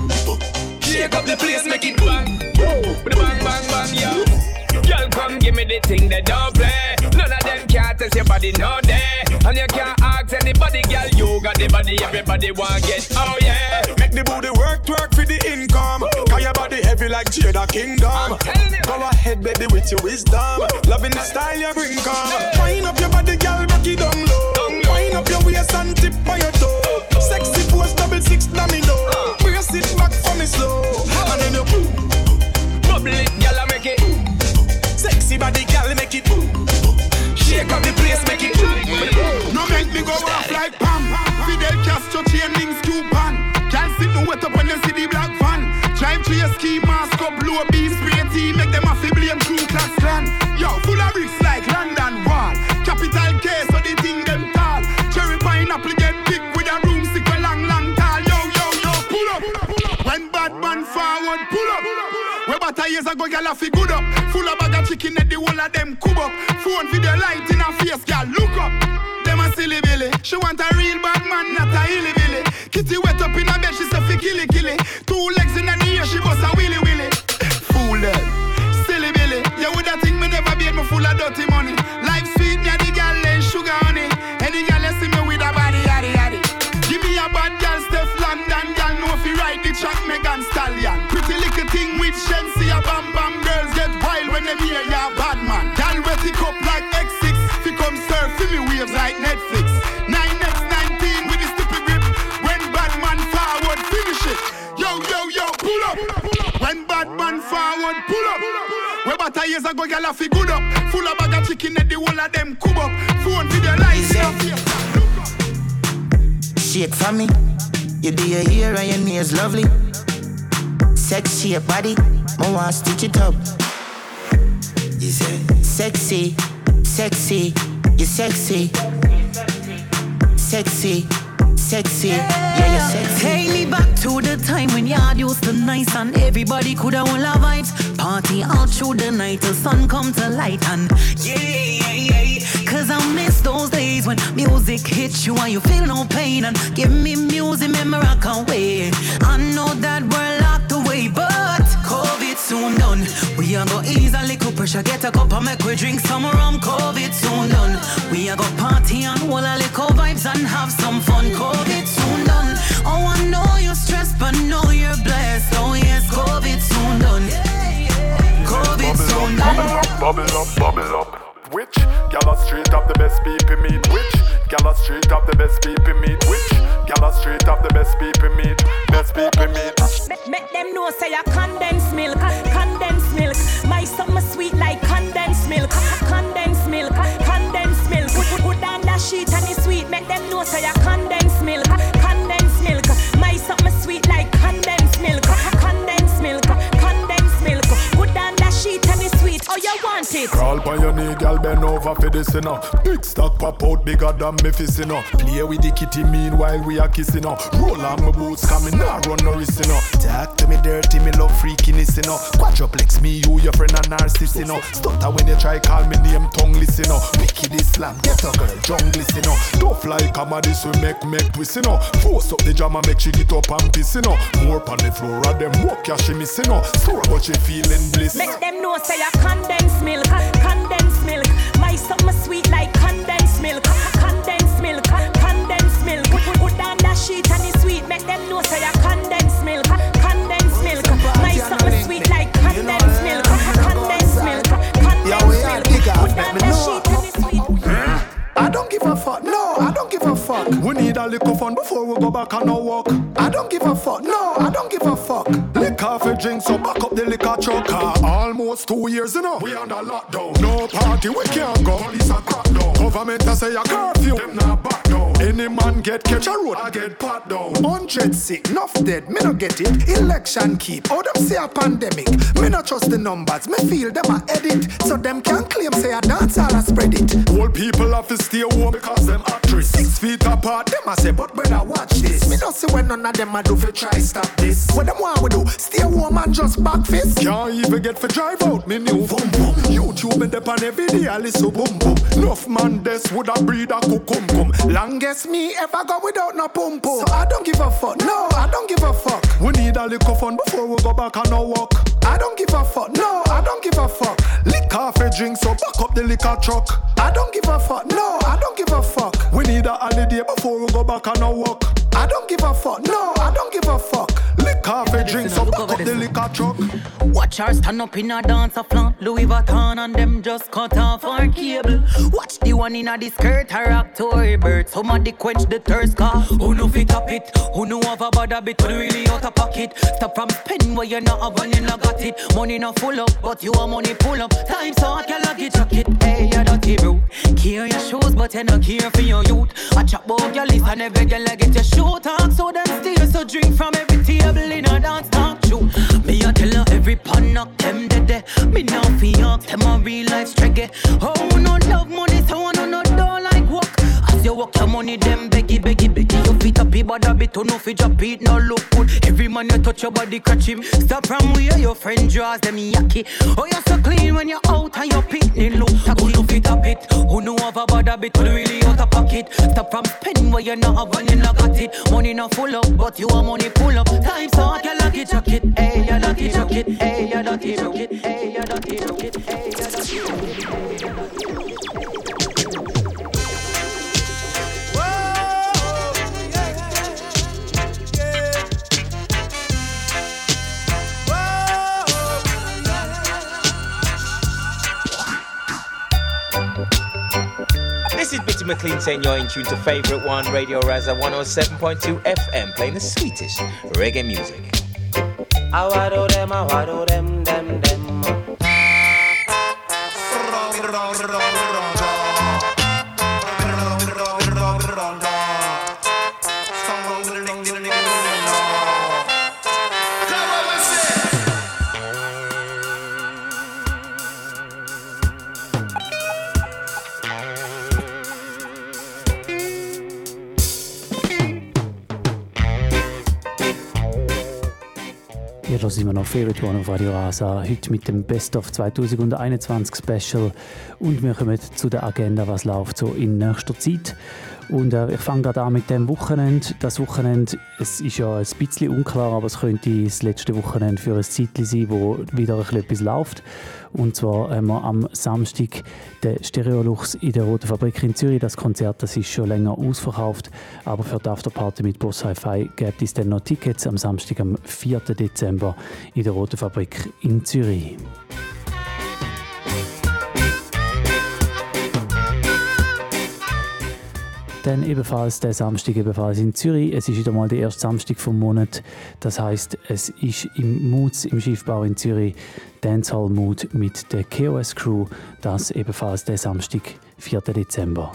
Shake up the place, make it bang. Bang, bang, bang, yo. Girl, come give me the thing that don't play. None of them can't test your body, no day. And you can't ask anybody, girl, you got the body, everybody want get. Oh yeah. Make the booty work, twerk for the income. Cause your body heavy like Jada Kingdom. Go ahead, baby, with your wisdom. Loving the style you bring, come. Wind up your body, girl, rock it down low. Wind up your waist and tip on your toe. Sexy pose, double six domino. Brace it back for me slow. And then you boom. Bubble it, girl, make it. Sexy body, girl, make it. Shake up the place, make it. No make me go off like Pam. Fidel Castro chain links coupon. Can't sit no wet up when you see the black van. Drive to your ski mask up, blow beef spray tea. Make them have to blame crew class clan. Yo, full of bricks like London Wall. Capital K, so the thing them tall. Cherry pineapple get big with a broomstick a long, long tall. Yo, yo, yo, pull up. When bad man forward, pull up. Where about years ago, y'all have to good up. Full of bag of chicken at the whole of them cub up. Phone video light in her face, girl, look up. Them a silly billy. She want a real bad man, not a hilly billy. Kitty wet up in her bed, she say fi killy killy. Two legs in her ear, she bust a willy willy. Fool them, silly billy. You woulda think me never beat me full of dirty money. Life sweet, me a the girl and sugar honey. Any girl you see me with a body, yaddy yaddy. Give me a bad girl, Steph London, girl know fi ride the track, Megan Stallion. Pretty little thing with Shensi, a bam bam. Girls get wild when them hear ya bad man. Girl wet it up like X six. Fi come surf fi me waves like Netflix. nine X nineteen with the stupid grip. When bad man forward, finish it. Yo, years ago, girl, I feel good up. Full of bag of chicken and the whole of them cub up. Phone video lights. Shake for me. You do your hair and your nails lovely. Sexy your body. I want to stitch it up. You say sexy, sexy, you sexy. Sexy, sexy, yeah, you're sexy. Take me back to the time when yard used to nice and everybody could have all our vibes. Party all through the night till sun come to light and yeah, yeah, yeah. Cause I miss those days when music hits you and you feel no pain and give me music, memory I can't wait. I know that we're locked away, but COVID soon done. We are go ease a little pressure, get a cup and make we drink some rum. COVID soon done. We are go party and hold a little vibes and have some fun. COVID soon done. Oh, I know you're stressed, but know you're blessed. Oh yes, COVID soon done. COVID soon done. Bubble up, bubble up. Which gala straight up the best people meet? Which gala straight up the best people meet? Which gala straight up the best people meet? Best people meet. Make, make them know say a condensed milk, condensed milk. My summer sweet like condensed milk, condensed milk, condensed milk. Put, put, put down that sheet and it's sweet. Make them know say a condensed milk, condensed milk. My summer sweet like condensed milk, condensed milk, condensed milk. Put down that sheet and it's sweet. Oh, you want it? Crawl by your knee, girl, bend over for this, you know. Big stock pop out bigger than me fist, you know. Play with the kitty meanwhile we are kissing, you know. Roll on my boots, coming now, run no risk, you know. Talk to me dirty, me love freakiness, you know. Quadruplex, me, you, your friend, and narcissist, you know. Stutter when you try call me name, tongue listen, you know. Wicked Islam, get a girl, jungle, you know. Don't fly, come on, this will make, make twist, you know. Force up the jam and make she get up and piss, you know. More on the floor, and them walk, yeah, she miss, you know. Store, but she feeling bliss. Make them know say a condensed milk, condensed milk. My summer sweet like condensed milk, condensed milk, condensed milk. Put, put, put down that sheet and it's sweet. Make them know say a condensed milk, condensed milk. My summer sweet like condensed milk, condensed milk, condensed milk. Put down that sheet and it's sweet. I don't give a fuck, no, I don't give a fuck. We need a little fun before we go back on our walk. I don't give a fuck, no, I don't give a fuck. Lick off a drink, so back up the liquor truck. Uh, almost two years, you know, we under lockdown. No party, we can't go. Police are crack down. Government a say a curfew, them not back down. Any man get catch a road, I get pat down. Hundred sick, enough dead, me no get it. Election keep, oh them say a pandemic. Me no trust the numbers, me feel them a edit. So them can claim say a dance all a spread it. Old people have to stay home because them actress. Six feet apart, them a say, but brother watch this. Me no see when none of them a do for try stop this. What them want we do? Stay home and just back fist. Can't even get for drive out, me new boom boom. YouTube and dep on every day I listen boom boom. Enough man this would a breed a cucum. Longest me ever go without no pum pum. So I don't give a fuck, no, I don't give a fuck. We need a little fun before we go back on our walk. I don't give a fuck, no, I don't give a fuck. Lick off a drink, so back up the liquor truck. I don't give a fuck, no, I don't give a fuck. We need a holiday before we go back on our walk. I don't give a fuck, no, I don't give a fuck. Lick off a drink, so back up the liquor truck. Watch her stand up in a dance a flaunt Louis Vuitton and them just cut off our cable. Watch the one in a the skirt her October. Somebody quench the thirst car. Who know fit up it? Who know have a bad habit? Who really out of pocket? Stop from spending where you not have when you not got it. Money not full up, but you want money pull up. Time so hot, you lucky jacket. Hey, you dirty bro. Care your shoes, but you not care for your youth. I chop about your list and every girl get your shoe talk. So them steal, so drink from every table in a dance talk show. Me a tell her every pan knock them dead. Me now fi ask them a real life struggle. Oh, no love money, so I no no don't like work. As you work your money, them beggy, beggy, beggy. You fit up, but a bit, no fi drop it, no look good. Every man you touch your body, catch him. Stop from where your friend draws them yucky. Oh, you're so clean when you're out and your picnic look tacky. Who no fit up it? Who know have a bad habit? Who really out of pocket? Stop from spending where you not have when you not got it. Money not full up, but you want money pull up. Time so hot, you lucky jacket. Hey, you lucky jacket. Hey, you lucky jacket. Hey, you lucky jacket. Hey, you lucky jacket. This is Bitty McLean saying you're in tune to Favourite One, Radio Raza one oh seven point two F M, playing the sweetest reggae music. I wado them, I wado them, them, them. Ihr hört immer noch Favorite One auf Radio Rasa, heute mit dem Best of zwanzig einundzwanzig Special. Und wir kommen zu der Agenda, was läuft so in nächster Zeit. Und äh, ich fange gerade an mit dem Wochenende. Das Wochenende, es ist ja ein bisschen unklar, aber es könnte das letzte Wochenende für ein Zeitchen sein, wo wieder ein bisschen etwas läuft. Und zwar haben wir am Samstag den Stereolux in der Roten Fabrik in Zürich. Das Konzert, das ist schon länger ausverkauft, aber für die Afterparty mit Boss Hi-Fi gibt es dann noch Tickets am Samstag, am vierten Dezember in der Roten Fabrik in Zürich. Dann ebenfalls der Samstag ebenfalls in Zürich. Es ist wieder mal der erste Samstag vom Monat. Das heisst, es ist im Moods im Schiffbau in Zürich Dancehall Mood mit der K O S Crew. Das ebenfalls der Samstag, vierten Dezember.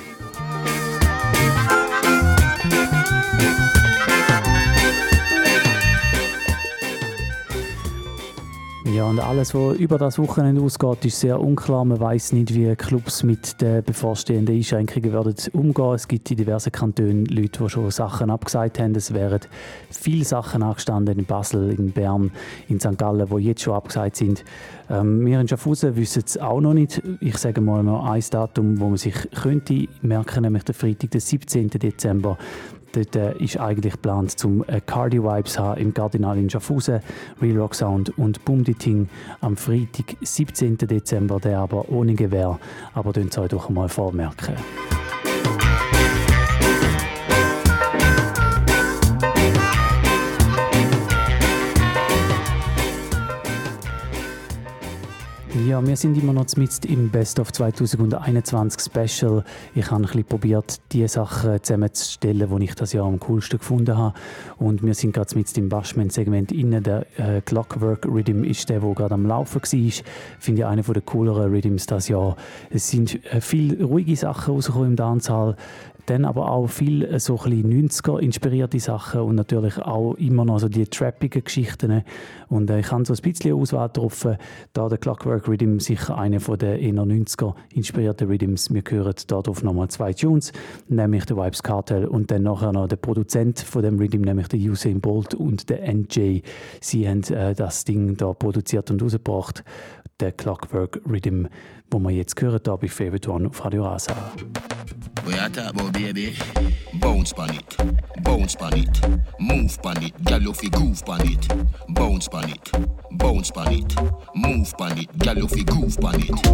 Ja, und alles, was über das Wochenende ausgeht, ist sehr unklar. Man weiss nicht, wie Clubs mit den bevorstehenden Einschränkungen werden umgehen. Es gibt in diversen Kantonen Leute, die schon Sachen abgesagt haben. Es wären viele Sachen angestanden in Basel, in Bern, in Sankt Gallen, die jetzt schon abgesagt sind. Ähm, wir in Schaffhausen wissen es auch noch nicht. Ich sage mal noch ein Datum, wo man sich könnte merken, nämlich der Freitag, den siebzehnten Dezember. Dort äh, ist eigentlich geplant, zum äh, Cardi Vibes haben im Cardinal in Schaffhausen, Real Rock Sound und Bumditing am Freitag, siebzehnten Dezember, der aber ohne Gewehr. Aber könnt ihr euch doch einmal vormerken. Ja, wir sind immer noch mitten im Best of zwanzig einundzwanzig Special. Ich habe ein bisschen probiert, die Sachen zusammenzustellen, die ich das Jahr am coolsten gefunden habe. Und wir sind gerade mitten im Bashment-Segment innen. Der äh, Clockwork Rhythm ist der, der gerade am Laufen war. Finde ich einer der cooleren Rhythms das Jahr. Es sind äh, viele ruhige Sachen rausgekommen im Dancehall. Dann aber auch viel so ein bisschen neunziger-inspirierte Sachen und natürlich auch immer noch so die trappigen Geschichten. Und äh, ich habe so ein bisschen Auswahl getroffen, da der Clockwork Rhythm sicher einer der eher neunziger-inspirierten Rhythms. Wir hören darauf nochmal zwei Tunes, nämlich der Vibes Cartel und dann nachher noch der Produzent von dem Rhythm, nämlich der Usain Bolt und der N J. Sie haben äh, das Ding da produziert und rausgebracht, der Clockwork Rhythm, wo wir jetzt hören, da bei Favorite One auf Radio Rasa. We are talk about baby, bounce pan it, bounce pan it, move pan it, gyal you fi groove pan it, bounce pan it, bounce pan it, move pan it, gyal you fi groove pan it.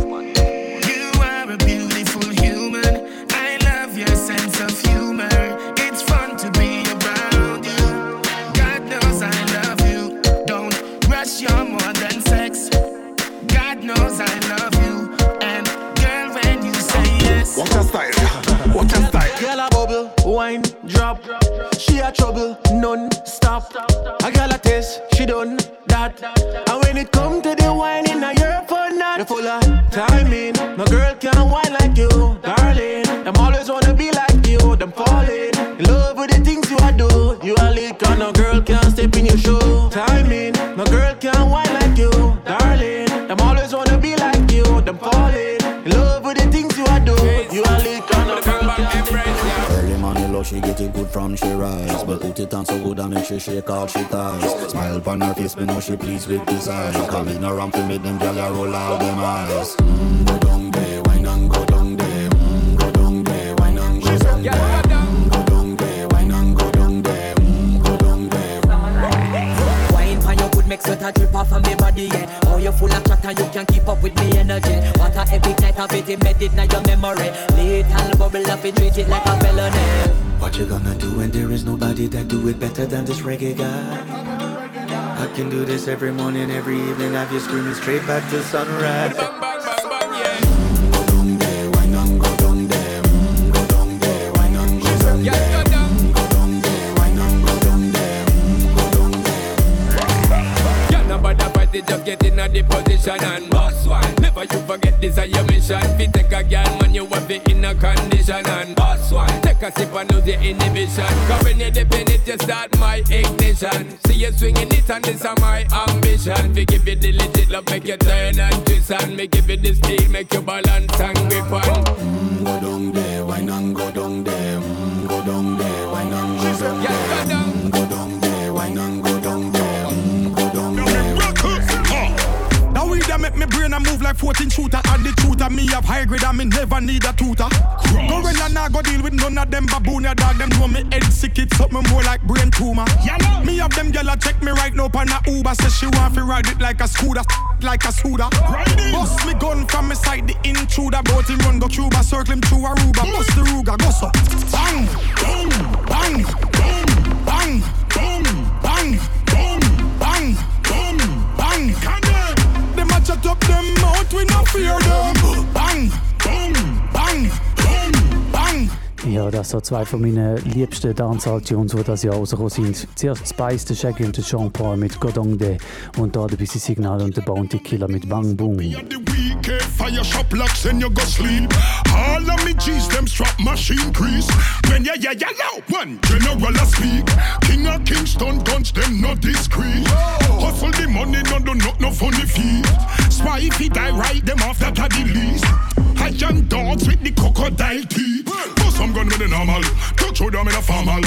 You are a beautiful human, I love your sense of humor. It's fun to be around you. God knows I love you. Don't rush, you're more than sex. God knows I love you, and girl when you say yes. Watch your style. Watch your style. Girl a bubble, wine, drop. She a trouble, non-stop. A girl a taste, she done that. And when it come to the wine in a year for not, you full of timing. No girl can wine like you, darling. Them always wanna be like you, them falling in love with the things you a do. You a lick and no girl can step in your shoe. Timing, no girl can wine like you, darling. Them always wanna be like you, them falling in love with the things you a do. You a lick and no girl can Early morning love, she get it good from she rise. But put it on so good and make she shake all she ties. Smile upon her face, me know she pleased with this eyes. Coming around to make them gyal roll out them eyes. Mm, go down there, wine and go down there. Mm, go down there, wine and go down there. Mm, go down there, wine and go down there. Mm, go down there. Wine for your good make sweat a drip off of me body, yeah. Oh, you full of chatter, you can't keep up with me energy. What a epic night of it, embedded in your memory. Little bubble up, it treat it like a felony. What you gonna do when there is nobody that do it better than this reggae guy? I can do this every morning, every evening, have you screaming straight back to sunrise. Just get in a the position and boss one. Never you forget this is your mission. Fi take a girl man you want fi in a condition and boss one. Take a sip and lose your inhibition. Cause when you dip in it you start my ignition. See you swinging it and this is my ambition. Fi give you the legit love make you turn and twist and me give you the steel make you balance and grip on. Mm, go down there, wine and go down there. Mm, go down there, wine and go down there. Mm, go down there, wine and go down there. Mm, go down there. men I move like fourteen shooter. And the shooter, me have high grade and me never need a tutor. Gorilla nah go deal with none of them baboon ya dog. Them know me head sick, it's something more like brain tumor. Yeah, me have them gyal check me right now on a Uber. Say she want to ride it like a scooter, like a scooter. Bust me gun from me side, the intruder. Bout him run go Cuba, circle him through Aruba. Bust the Ruger, go so. Bang, boom, bang, boom, bang, boom, bang, boom, bang, boom, bang. Them a chat up them mouth, we no fear them. Bang, boom, bang, boom, bang. Ja, das sind zwei von meinen liebsten Dancehall-Tunes, die das Jahr rausgekommen sind. Zuerst Spice, der Shaggy und der Sean Paul mit Godong De und da der Busy Signal und der Bounty Killer mit Bang Boom. Fire shop locks and you go sleep. All of me G's them strap machine crease. When ya ya ya loud one general a speak. King of Kingston guns them not discreet. Hustle the money no do not no funny feet. Spy if he die right them off that a the least. I young dogs with the crocodile teeth. But some gun with the normal. Touch show them in a formal.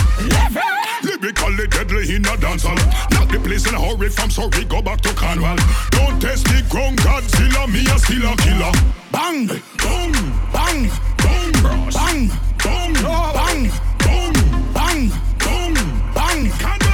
Lyrically deadly in a dancehall. Knock the place in a hurry from sorry go back to Cornwall. Don't test the ground Godzilla me a still a killer. Bang, boom, bang, boom, bang, boom, bang, boom, bang, boom, bang.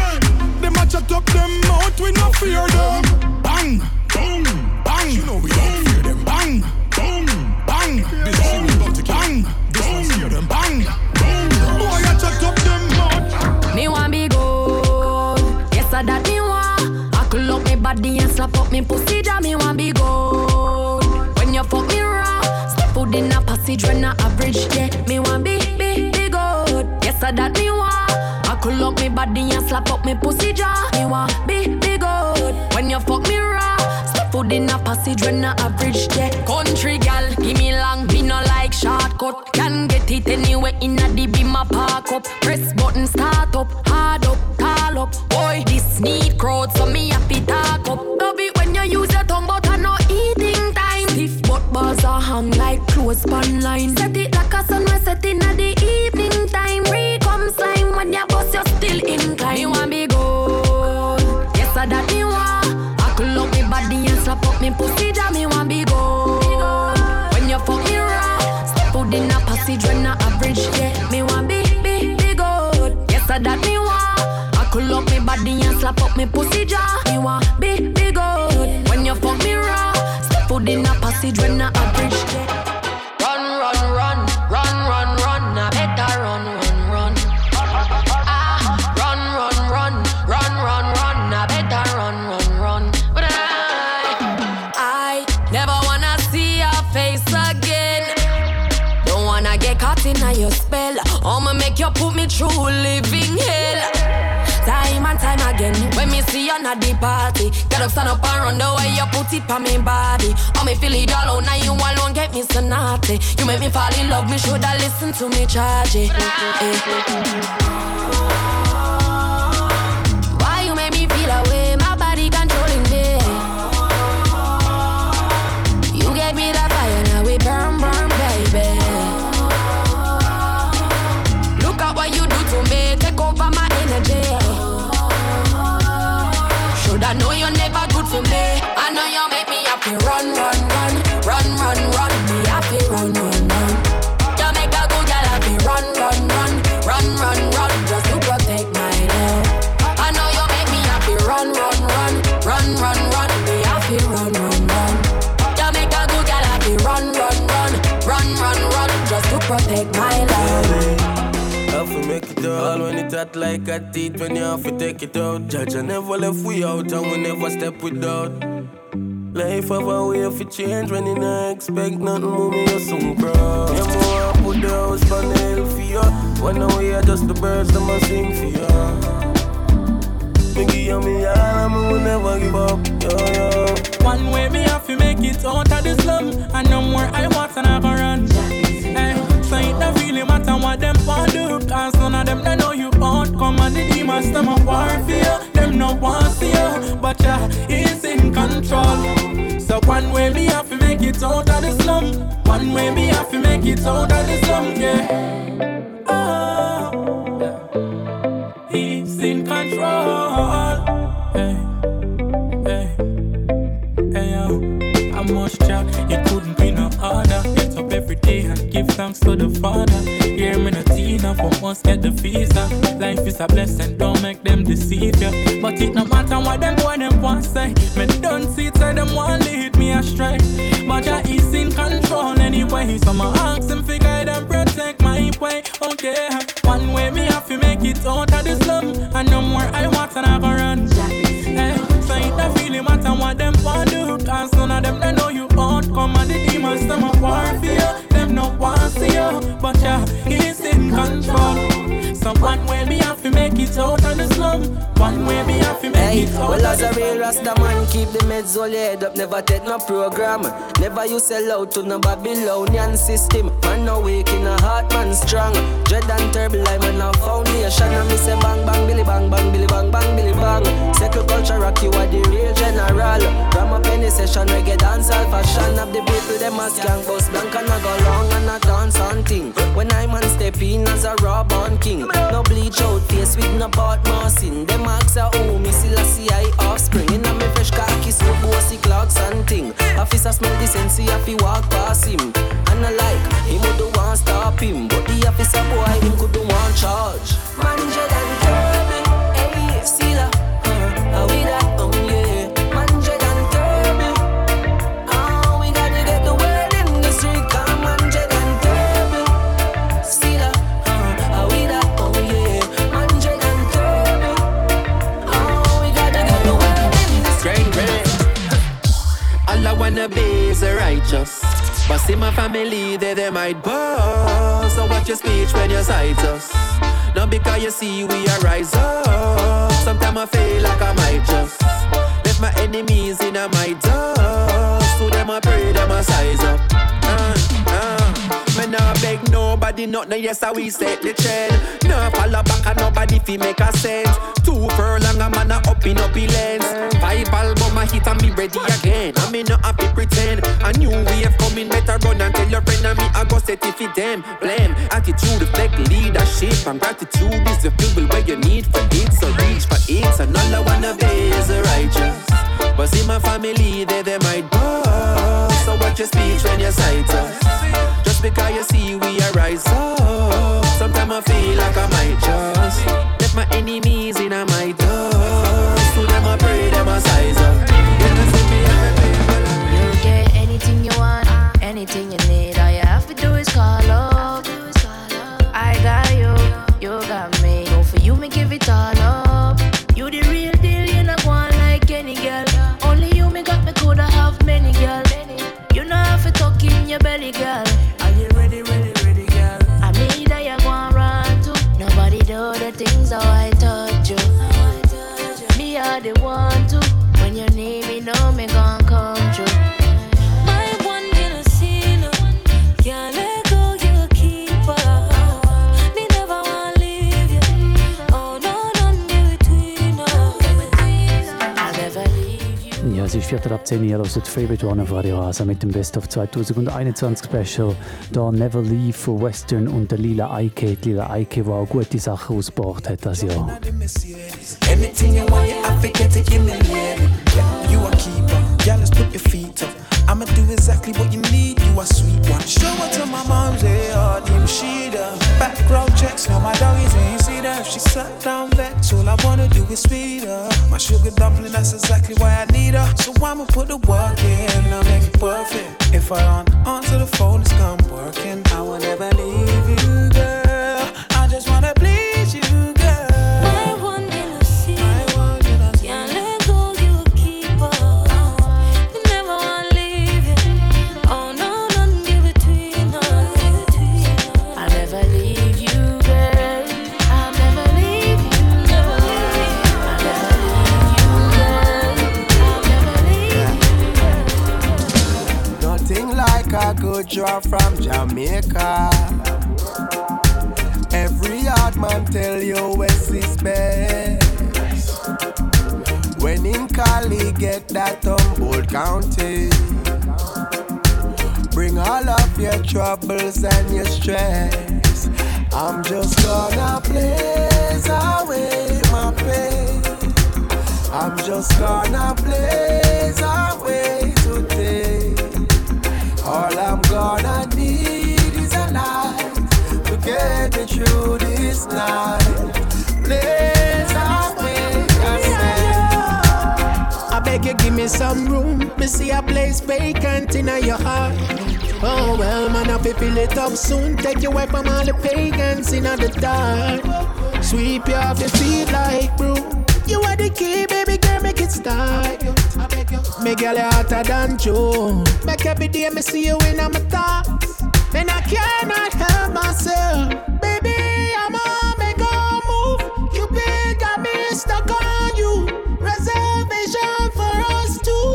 Them a chat up them mouth, we no fear them. Bang, boom, bang. You know we don't fear them. Bang, boom, bang. This is about to bang. This one's fear them. Bang, boom. Boy, a chat up them mouth. Me want be good. Yes, I that me want. I could lock me body and slap up me pussy. That me want be good. When you fuck me raw, step out in a passage when I average. Yeah, me want be, be, be good. Yes, I that me want. I could lock me body and slap up me pussy jaw. Me want be, be good. When you fuck me raw, step out in a passage when I average. Yeah, country gal, give me long, me no like shortcut. Can get it anywhere in a the beam a park up. Press button start up, hard up, tall up. Boy, this need crowd so me happy talk up. Love it when you use your tongue but I no eating time. Stiff but bars are hung like clothes span line. Set it like a sunrise set in at the evening time. Re-come slime when you bust you still inclined. You want be good. Yes, I that me want. I could love me body and slap up me pussy that me want be good. When you fuck me raw, step out in a passage when I average. Yeah, me want be, be, be good. Yes, I that me want. I could love me body and slap up me pussy jaw. Me want be, be good. When you fuck me raw, step out in a passage when I average. Run, run, run, run, run, run. I better run, run, run. Ah, run, run, run, run, run, run. I better run, run, run. But I, I never wanna see your face again. Don't wanna get caught in your spell. I'ma make you put me through living hell. Time and time again, when me see you at the party, get up, stand up and run the way you put it on me body. Oh, me feel it all out, now you alone get me so naughty. You make me fall in love, me shoulda listen to me charge it. Why you make me feel away, my body controlling me. You gave me that fire, now we burn, burn, baby. Look at what you do to me, take over my energy. I know you're never good for me. I know you make me happy. Run, run, run, run, run, run. Me happy. Run, run, run. You make a good girl happy. Run, run, run, run, run, run. Just to protect my love. I know you make me happy. Run, run, run, run, run, run. Me happy. Run, run, run. You make a good girl happy. Run, run, run, run, run, run. Just to protect my love. Have to make it all when it hot like a teeth. When you have to take it out. Judge, I never left we out and we never step without. Life have a way of change when you not expect nothing. Move me, you soon grow. You more put the house on the hill for you. When we are just the birds that must sing for you. Me give you me all and me will never give up. Yo, yo. One way me have to make it out of the slum. And no more I want and I go run. Hey. So it don't really matter what them want do. Cause none of them they know you out. Come on the demons, them a war for you. Them no want see you. But yeah, he's in control. So one way me have to make it out of the slum. One way me have to make it out of the slum, yeah. Oh, he's in control. Hey, hey, hey yo. How much must get the visa. Life is a blessing, don't make them deceive you. But it no matter what them boy them want say. Me don't see it, say them want lead me astray. But Jah is in control anyway. So my ask him fi guide and protect my way. Okay, one way me have to make it out of the slum. And no more I want and I go run. Hey, so it don't really matter what them want do. Cause none of them they know you out. Come and the demons them a war for you. Them no want see you. But Jah is in control. So one way me have to make it out of the slum. One way me have to make hey, it out. Well, as a real Rasta man, keep the meds all your head up. Never take no program. Never you sell out to no Babylonian system. Man no weak in a heart, man strong. Dread and terrible, I'm on a foundation. And me say bang bang billy bang bang billy bang bang billy bang. Second culture rock, you are the real general. Ram up any session, reggae dance all fashion. Of the people them a skank bus blank and I go long and I dance on thing. When I man step in as a raw born king. No bleach out face with no bad mousing. Them ask a who me still a see I offspring. In a me fresh khaki suit, bossy clocks and thing. Officer smell the sense, he have to walk past him. And I like, him would do want stop him. But the officer boy, him could do want charge. Man, dread and terrible, hey, still a, uh, we that, oh yeah. Man, dread and terrible, oh, we gotta get the word in the street. Come on, dread and terrible, still a, uh, we that, oh yeah. Man, dread and terrible, oh, we gotta get the word in the street. Great, great. All I wanna be is a righteous. But see my family, they, they might boast. So watch your speech when you cite us. Not because you see we are rise up. Sometimes I feel like I might just left my enemies in a my dust. To them I pray, them I size up. uh, uh. Me nah beg nobody, not no yes how we set the trend. Nah follow back and nobody fi make a sense. Two furlong a man a up in up lens. Five album a hit and be ready again. I me not happy pretend. A new wave coming, better run and tell your friend and me I go set it for them. Blame attitude reflect leadership and gratitude is the fuel where you need for it. So reach for it and all I wanna be is a righteous. But see my family they they might boast. So watch your speech when you cite us. Just because you see we are rise up. Sometimes I feel like I might just let my enemies in a my dust. To them I pray, them I size up. You get anything you want, anything you need. All you have to do is call up. I got you, you got me. Go for you, me give it all up. You the real deal, you not one like any girl. Only you me got me coulda have many girl. You know have to talk in your belly, girl. Are you ready, ready, ready, girl? I mean that you gon' run to. Nobody do the things how I touch you. Me are the one to. When you need me, know me gon' come true. My one gonna see no. Can't let go, you a keeper. Me never wanna leave you. Oh no, none between us. I'll never leave you. Ja, es ist Viertel ab zehn, ihr hört Favorite One auf Radio Rasa mit dem Best of zwanzig einundzwanzig Special. Da Never Leave von Western und der Lila Ike. Die Lila Ike, die auch gute Sachen ausgebracht hat das Jahr. Anything you want, yeah, I forget to give me, yeah. Yeah, you a keeper, yeah, let's put your feet up. I'ma do exactly what you need, you a sweet one. Show it to my mom's, yeah, you she the background checks, now my doggies ain't see that. If she sat down vex, all I wanna do is feed her. My sugar dumpling, that's exactly why I need her. So I'ma put the work in, I'll make it perfect. If I don't answer the phone, it's come working. I will never leave you, girl. I just wanna please you, girl. A good draw from Jamaica. Every hard man tell you West is best. When in Cali get that Humboldt County. Bring all of your troubles and your stress. I'm just gonna blaze away my pain. I'm just gonna blaze away today. All I'm gonna need is a light to get me through this me some room. Me see a place vacant in your heart. Oh well, man, I fill it up soon. Take you away from all the pagans in the dark. Sweep you off your feet like broom. You are the key, baby girl, make it start. Make girl hotter than June. Make every day me see you in my thoughts, and I cannot help myself. Baby, I'm on make a move. You big got me stuck on you. Reservation for us two.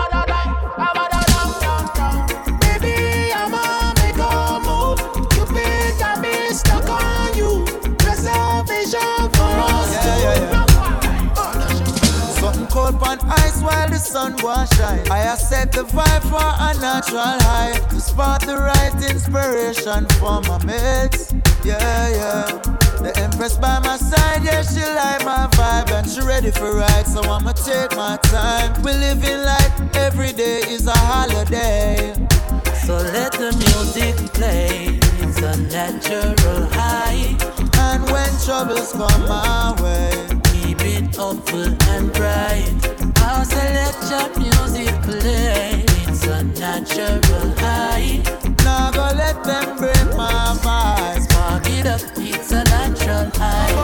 Baby, I'm on make a move. You big got me stuck on you. Reservation for us two. Yeah, yeah, yeah. Something cold on ice while the sun was shine. I have set the vibe for a natural high to spot the right inspiration for my mates. Yeah, yeah. The Empress by my side, yeah, she like my vibe and she ready for ride, so I'ma take my time. We living like every day is a holiday. So let the music play, it's a natural high. And when troubles come my way, keep it hopeful and bright. I'll select your music play, it's a natural high. Now go let them break my vibe. Spark it up, it's a natural high.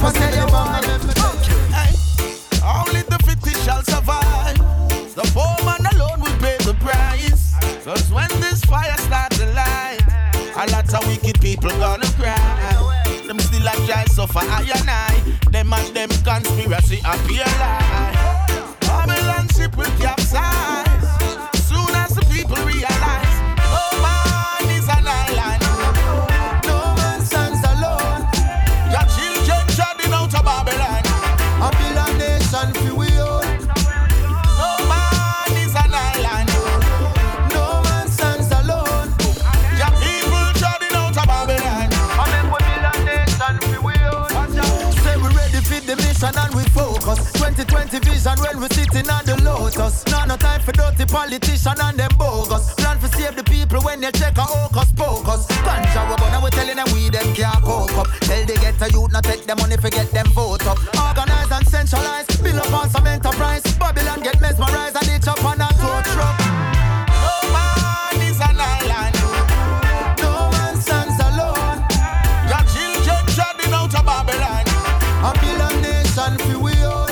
Only the fittest shall survive. The poor man alone will pay the price. Cause when this fire starts to light, a lot of wicked people gonna cry. Them still a try suffer I and I. Them and them conspiracy appear lie. Babylon ship will capsize soon as the people realize, oh man is an island. No man stands alone. Your children treading out of Babylon. A Babylon nation for we own. No man is an island. No man stands alone. Your people treading out of Babylon. I mean, we Babylon nation for we own. Say we ready for the mission and we focus. twenty twenty vision when we sitting on the lotus. Now no time for dirty politician and them bogus. Plan for save the people when they check a hocus pocus. Ganja we gonna we telling them we them can't cope up. Tell they get a youth not take them money forget them vote up. Organize and centralize, build up on some enterprise. Babylon get mesmerized and it's up on a tow truck. No man is an island. No man stands alone. Your children treading out of Babylon. A Babylon nation for we own.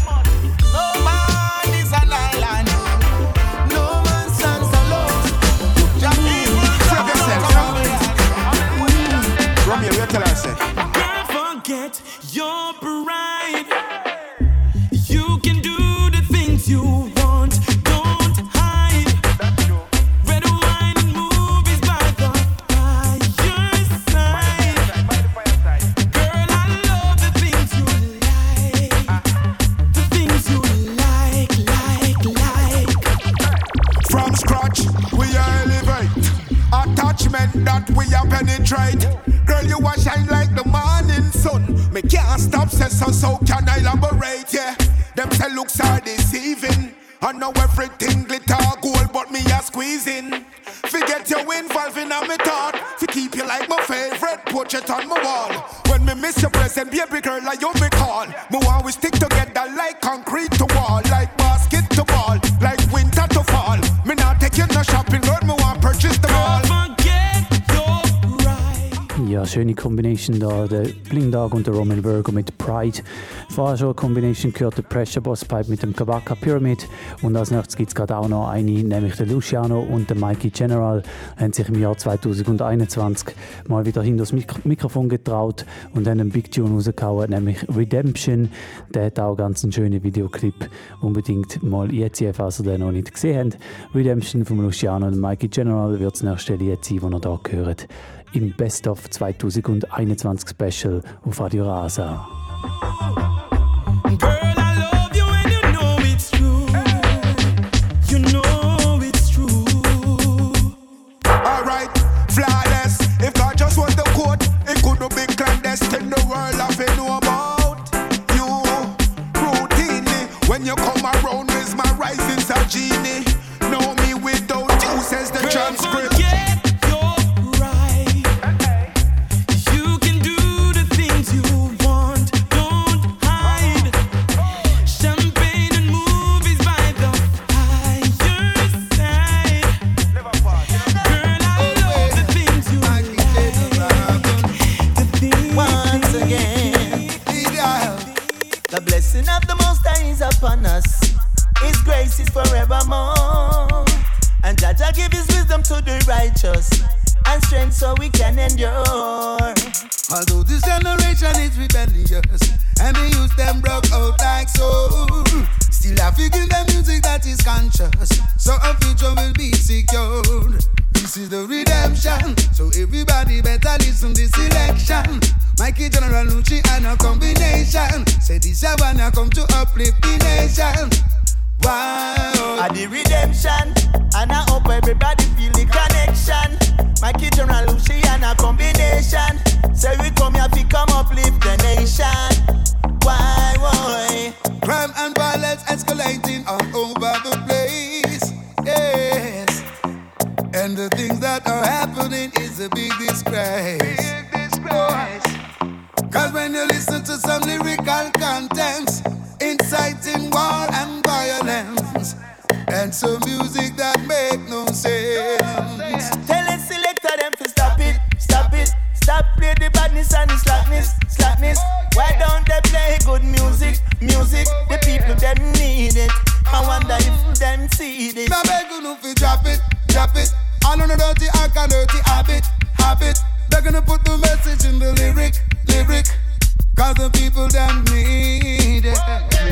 Don't forget your pride. You can do the things you want. Don't hide. Red wine and movies by the fire's side. Girl, I love the things you like. The things you like, like, like. From scratch, we elevate. Attachment that we are penetrate. Girl, you a shine like the morning sun. Me can't stop, say so, so can I elaborate, yeah. Them say looks are deceiving. I know everything glitter gold, but me a squeezing. Forget you involving on me thought. To keep you like my favorite portrait on my wall. When me miss your present, baby girl, like you me call. Me want we stick together like concrete to wall. Like basket to ball, like winter to fall. Me not take you no shopping, girl, me want purchase them all. Ja, schöne Combination da, der Bling Dog und der Roman Virgo mit Pride. Vorher schon eine Combination gehört, der Pressure Boss Pipe mit dem Kabaka Pyramid. Und als nächstes gibt es gerade auch noch eine, nämlich der Luciano und der Mikey General, haben sich im Jahr zwanzig einundzwanzig mal wieder hinter das Mik- Mikrofon getraut und haben einen Big Tune rausgehauen, nämlich Redemption. Der hat auch ganz einen schönen Videoclip. Unbedingt mal jetzt, falls ihr den noch nicht gesehen habt. Redemption von Luciano und Mikey General wird das nächste Lied sein, das ihr hier gehört. Im Best of zwanzig einundzwanzig Special auf Radio Rasa. Girl, I love you and you know it's true. You know it's true. Alright, flawless. If God just want the quote, it could not be clandestine. The world have to know about you. Routinely, when you come around, mesmerizing a genie. Know me without you, says the transcript. You can do the things you want. The blessing of the Most High is upon us. His grace is forevermore. And Jah Jah give His wisdom to the righteous and strength so we can endure. Although this generation is rebellious and the youth them broke out like so, still I feel them music that is conscious, so a future will be secured. This is the redemption, so everybody better listen this election. Mikey General Lucci and a combination. Say this I wanna come to uplift the nation. Wow, at the redemption, and I hope everybody feel the connection. Mikey General Lucci and a combination. Say we come here to come uplift the nation. Why, why? Crime and violence escalating all over the place. Yes, and the things that are happening is a big disgrace. Big disgrace. Cause when you listen to some lyrical contents inciting war and violence, and some music that make no sense. Tell the selector them to stop it, stop it, stop play the badness and the slackness, slackness. Why don't they play good music, music? The people them need it. I wonder if them see this. I beg you to drop it, drop it. All on the dirty act and dirty habit, habit. They're gonna put the message in the lyric, lyric. Cause the people them need it.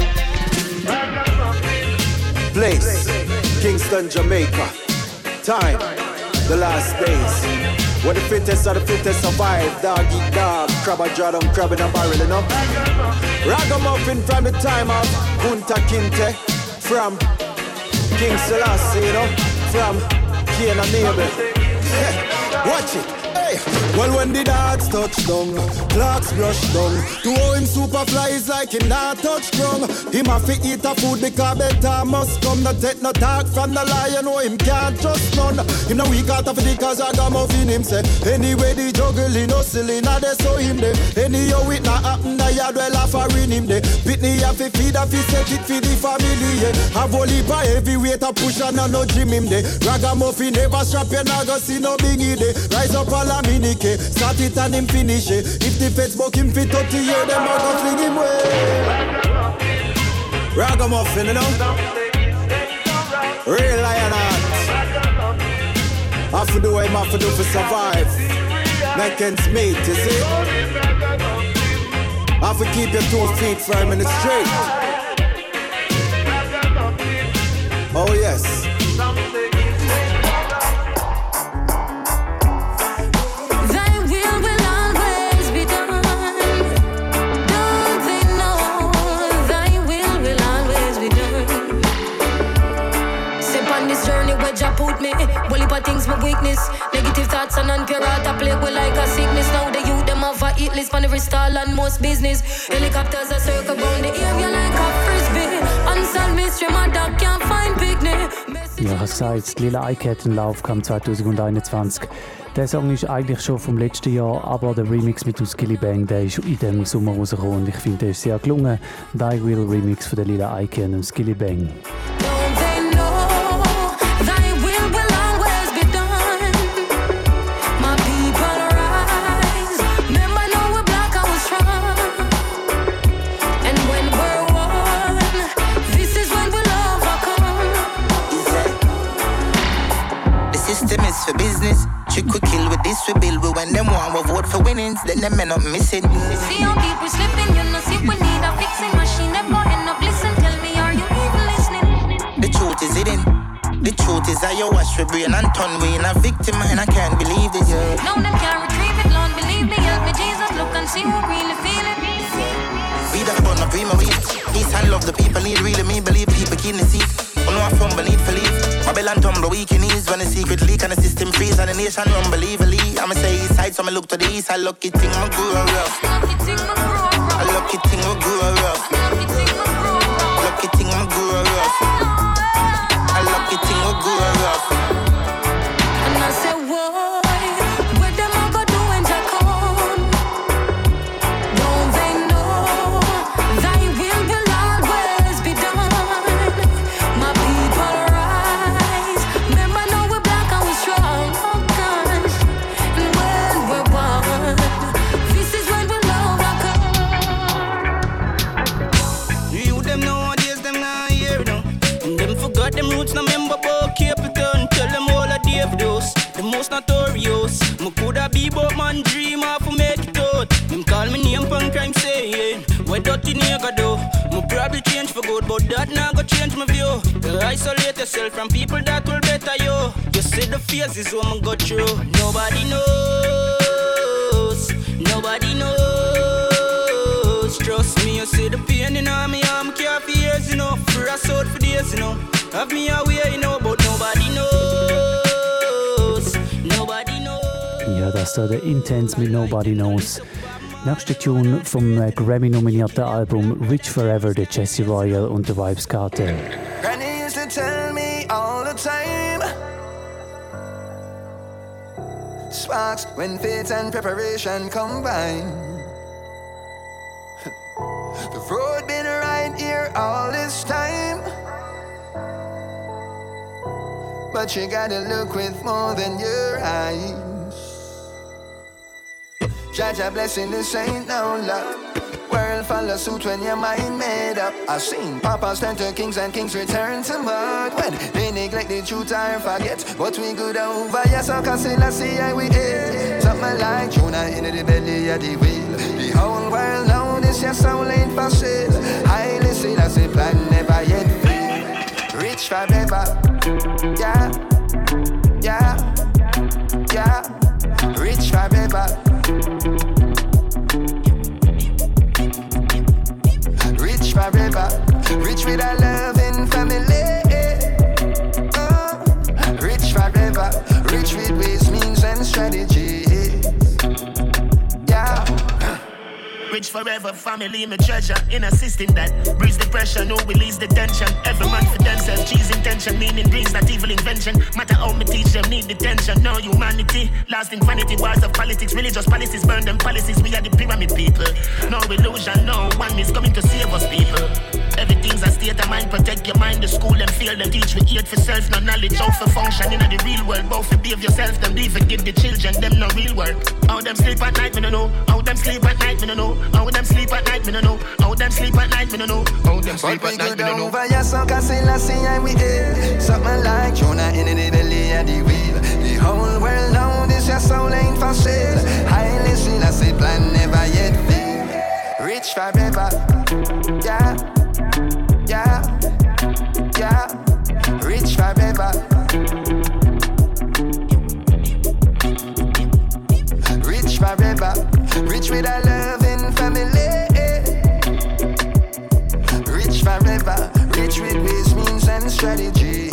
Place, Kingston, Jamaica. Time, the last days. When the fittest of the fittest survive. Dog eat dog, crab a draw down, crab in a barrel, you know. Ragamuffin from the time of Kunta Kinte. From King Selassie, you know. From Cain and Abel. Watch it. Well, when the dogs touch down, clocks brush down. To how him super fly is like him not touch ground. Him have to eat a food because better must come. Not take no talk from the lion, know him can't trust none. Him no weak out of the cause I got muffin him say. Anyway the juggling, hustling, now they saw him there. Anyhow it not happen, the yard well off a rin him there. Pitney have to feed, have to set it for the family, yeah. Have only by heavyweight a push and no gym him there. Ragamuffin never strap you, now go see no bingy there. Rise up all a minute, start it and him finish it. If the feds buck him fit thirty year, them a go fling him way. Ragamuffin, you know. Real lion heart. Have to do what him have to do for survive. Neck and meet, you see. Have to keep your two feet firm in the street. Oh yes. Put me, well if I think's my weakness. Negative thoughts and unpure heart I play with like a sickness. Now the youth them have a eat list on every stall and most business. Helicopters are circle round the area like a frisbee. Unsolved mystery, my dog can't find picnic. Ja, ich habe gesagt, Lila Ike hat einen Lauf kam zwanzig einundzwanzig. Der Song ist eigentlich schon vom letzten Jahr, aber der Remix mit Skillibeng, der ist in diesem Sommer rausgekommen und ich finde, der ist sehr gelungen. Der I Will Remix von der Lila Ike und dem Skillibeng. For business, trick we kill with this we build. We when them want we vote for winnings, then them end up missing. See how people slipping, you know see we need a fixing machine. Them go end up listen, tell me are you even listening? The truth is hidden. The truth is I you wash for brain and turn we in a victim and I can't believe this. Yeah. No them can't retrieve it, Lord believe me, help me Jesus, look and see who really feel it. We done burn up prima weed. Peace and love the people need really me believe people keen the seat. Oh no I fumble need for leave. Babylon tumble weak in ease when the secret leak and the system freeze and the nation unbelievably. I'ma say east side so me look to the east. I lucky thing my grow rough. I lucky thing my grow rough. Lucky thing my grow rough. I lucky thing my grow rough. And I say whoa, where them I go do when I come? Don't they know thy will will always be done? My people rise. Remember now we're black and we're strong. Oh gosh, and when we're one, this is when we'll overcome. Probably change for good, but that not go change my view. You isolate yourself from people that will better you. You see the phases woman go through. Nobody knows, nobody knows. Trust me, you see the pain in all me arm, care for years, you know. For us out for days, you know. Have me aware, you know, but nobody knows, nobody knows. Ja, das da der Intense mit Nobody Knows. Nächste Tune vom äh, Grammy-nominierten Album Rich Forever, der Jesse Royal und der Vibes Cartel. Granny used to tell me all the time, sparks when faith and preparation combine. The road been right here all this time, but you gotta look with more than your eyes. Jaja blessing, this ain't no luck. World follow suit when your mind made up. I've seen papas turn to kings and kings return to mud when they neglect the truth and forget what we good over. Yes, I can see, I see how we ate. Something like Jonah in the belly of the wheel. The whole world know this, your soul ain't for sale. Highly seen as a plan never yet fail. Rich forever, yeah, yeah, yeah. Rich forever. Rich forever, rich with a loving family. Oh, rich forever, rich with ways, means and strategies. Yeah. Rich forever, family, my treasure. In a system that breeds the pressure, no release the tension. Every man for themselves, cheese intention, meaning brings not evil invention. Matter how me teach them, need detention. No humanity, lasting vanity, wars of politics, religious policies, burn them policies. We are the pyramid people. No illusion, no one is coming to save us, people. Everything's a state of mind, protect your mind. The school and field them teach we eat for self, no knowledge how for function in the real world. Both for behave yourself, them be forgive the children, them no real work. How them sleep at night, me no know. How them sleep at night, me no know. How them sleep at night, me no know. How them sleep at night, me no know. How them sleep at night, me no know. Over your song, I see, I see, and we ate. Something like Jonah in the belly of the wheel. The whole world know this, your soul ain't for sale. Highly seen, I see, plan never yet fail. Rich forever, yeah, yeah, yeah. Rich forever. Rich forever, rich with a loving family. Rich forever, rich with ways, means and strategy.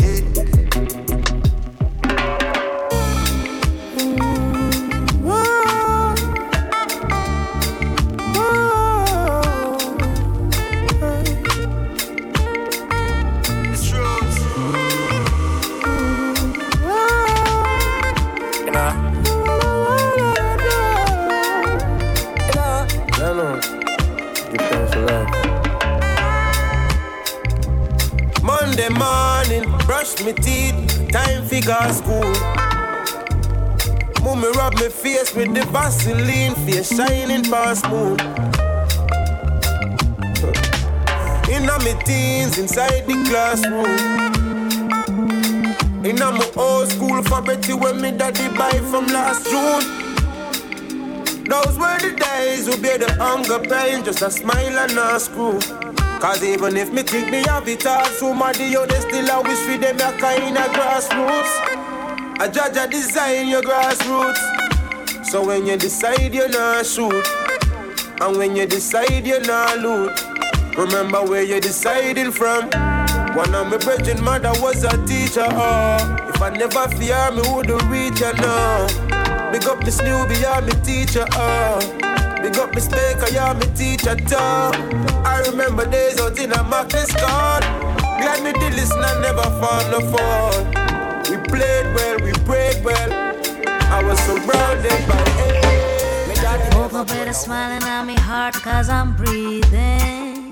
Monday morning, brush me teeth, time figure school. Mummy rub me face with the Vaseline, face shining past moon. Inna me teens, inside the classroom. Inna my old school fabric when me daddy buy from last June. Those were the days we bear the hunger pain, just a smile and a screw. Cause even if me think me have it all, somebody yo, they still a wish for them a kind of grassroots. I judge a design your grassroots. So when you decide you not shoot, and when you decide you not loot, remember where you're deciding from. One of my brethren mother was a teacher, oh. If I never fear me, wouldn't reach her, no. Big up Miss Newbie, yeah, me teacher, oh. Big up Miss Baker, yeah, me teacher, too. I remember days out in a Marcus Court. Glad me did listen and never fall, no fall. We played well, we prayed well. I was surrounded by hate. Woke up with a smile on me heart cause I'm breathing.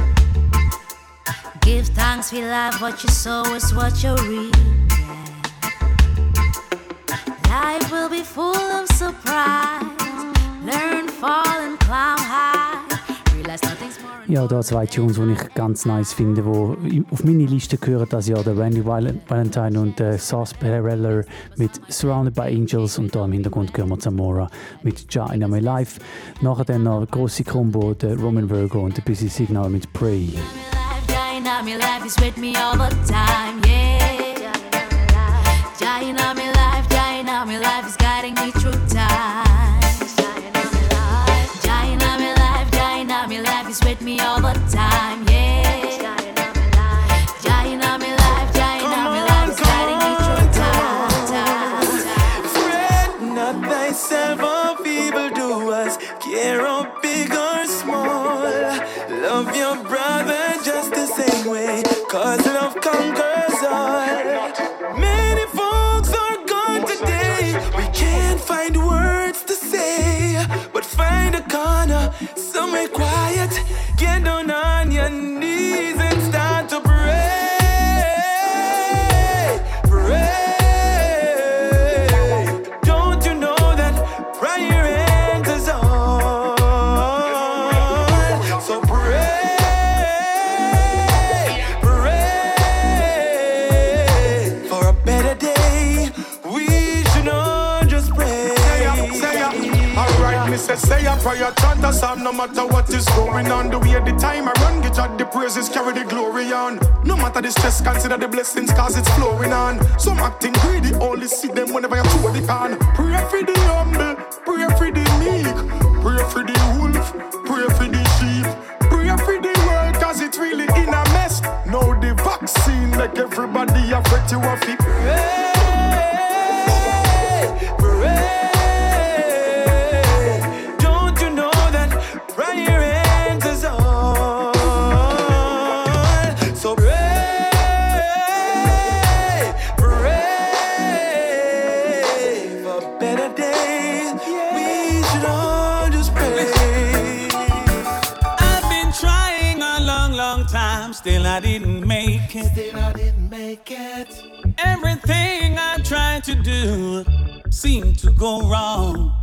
Give thanks for life, what you sow is what you reap. Life will be full of surprise. Learn, fall, and climb high. Ja, da zwei Tunes, die ich ganz nice finde, die auf meine Liste gehören das Jahr, der Randy Valentine und der Sauce Pereller mit Surrounded by Angels und da im Hintergrund hören wir Zamora mit Ja in My Life. Nachher dann noch eine grosse Combo, der Roman Virgo und der Busy Signal mit Pray. Ja in my life is with me all the time, yeah. Ja in my life, ja in my life is guiding me through time. My life is with me all the time, yeah. Jah in my life, Jah in my life is guiding me through time, time, time. Fret not thyself of evildoers, care of big or small. Love your brother just the same way, cause love conquers all. Many folks are gone today, we can't find words to say, but find a corner somewhere quiet, get down on your knees and start to pray, pray. Don't you know that prayer answers all? So pray, pray for a better day. We should all just pray. Say ya, say ya. Alright, me say say a prayer, chant a psalm, no matter what is going on. The way the time I run, get out the praises, carry the glory on. No matter the stress, consider the blessings, cause it's flowing on. Some acting greedy, only see them whenever you throw the can. Pray for the humble, pray for the meek, pray for the wolf, pray for the sheep, pray for the world, cause it's really in a mess. Now the vaccine make everybody afraid to have it. Pray, pray. Prayer answers all. So pray, pray for better days. We should all just pray. I've been trying a long, long time, still I didn't make it. Still I didn't make it. Everything I tried to do seemed to go wrong.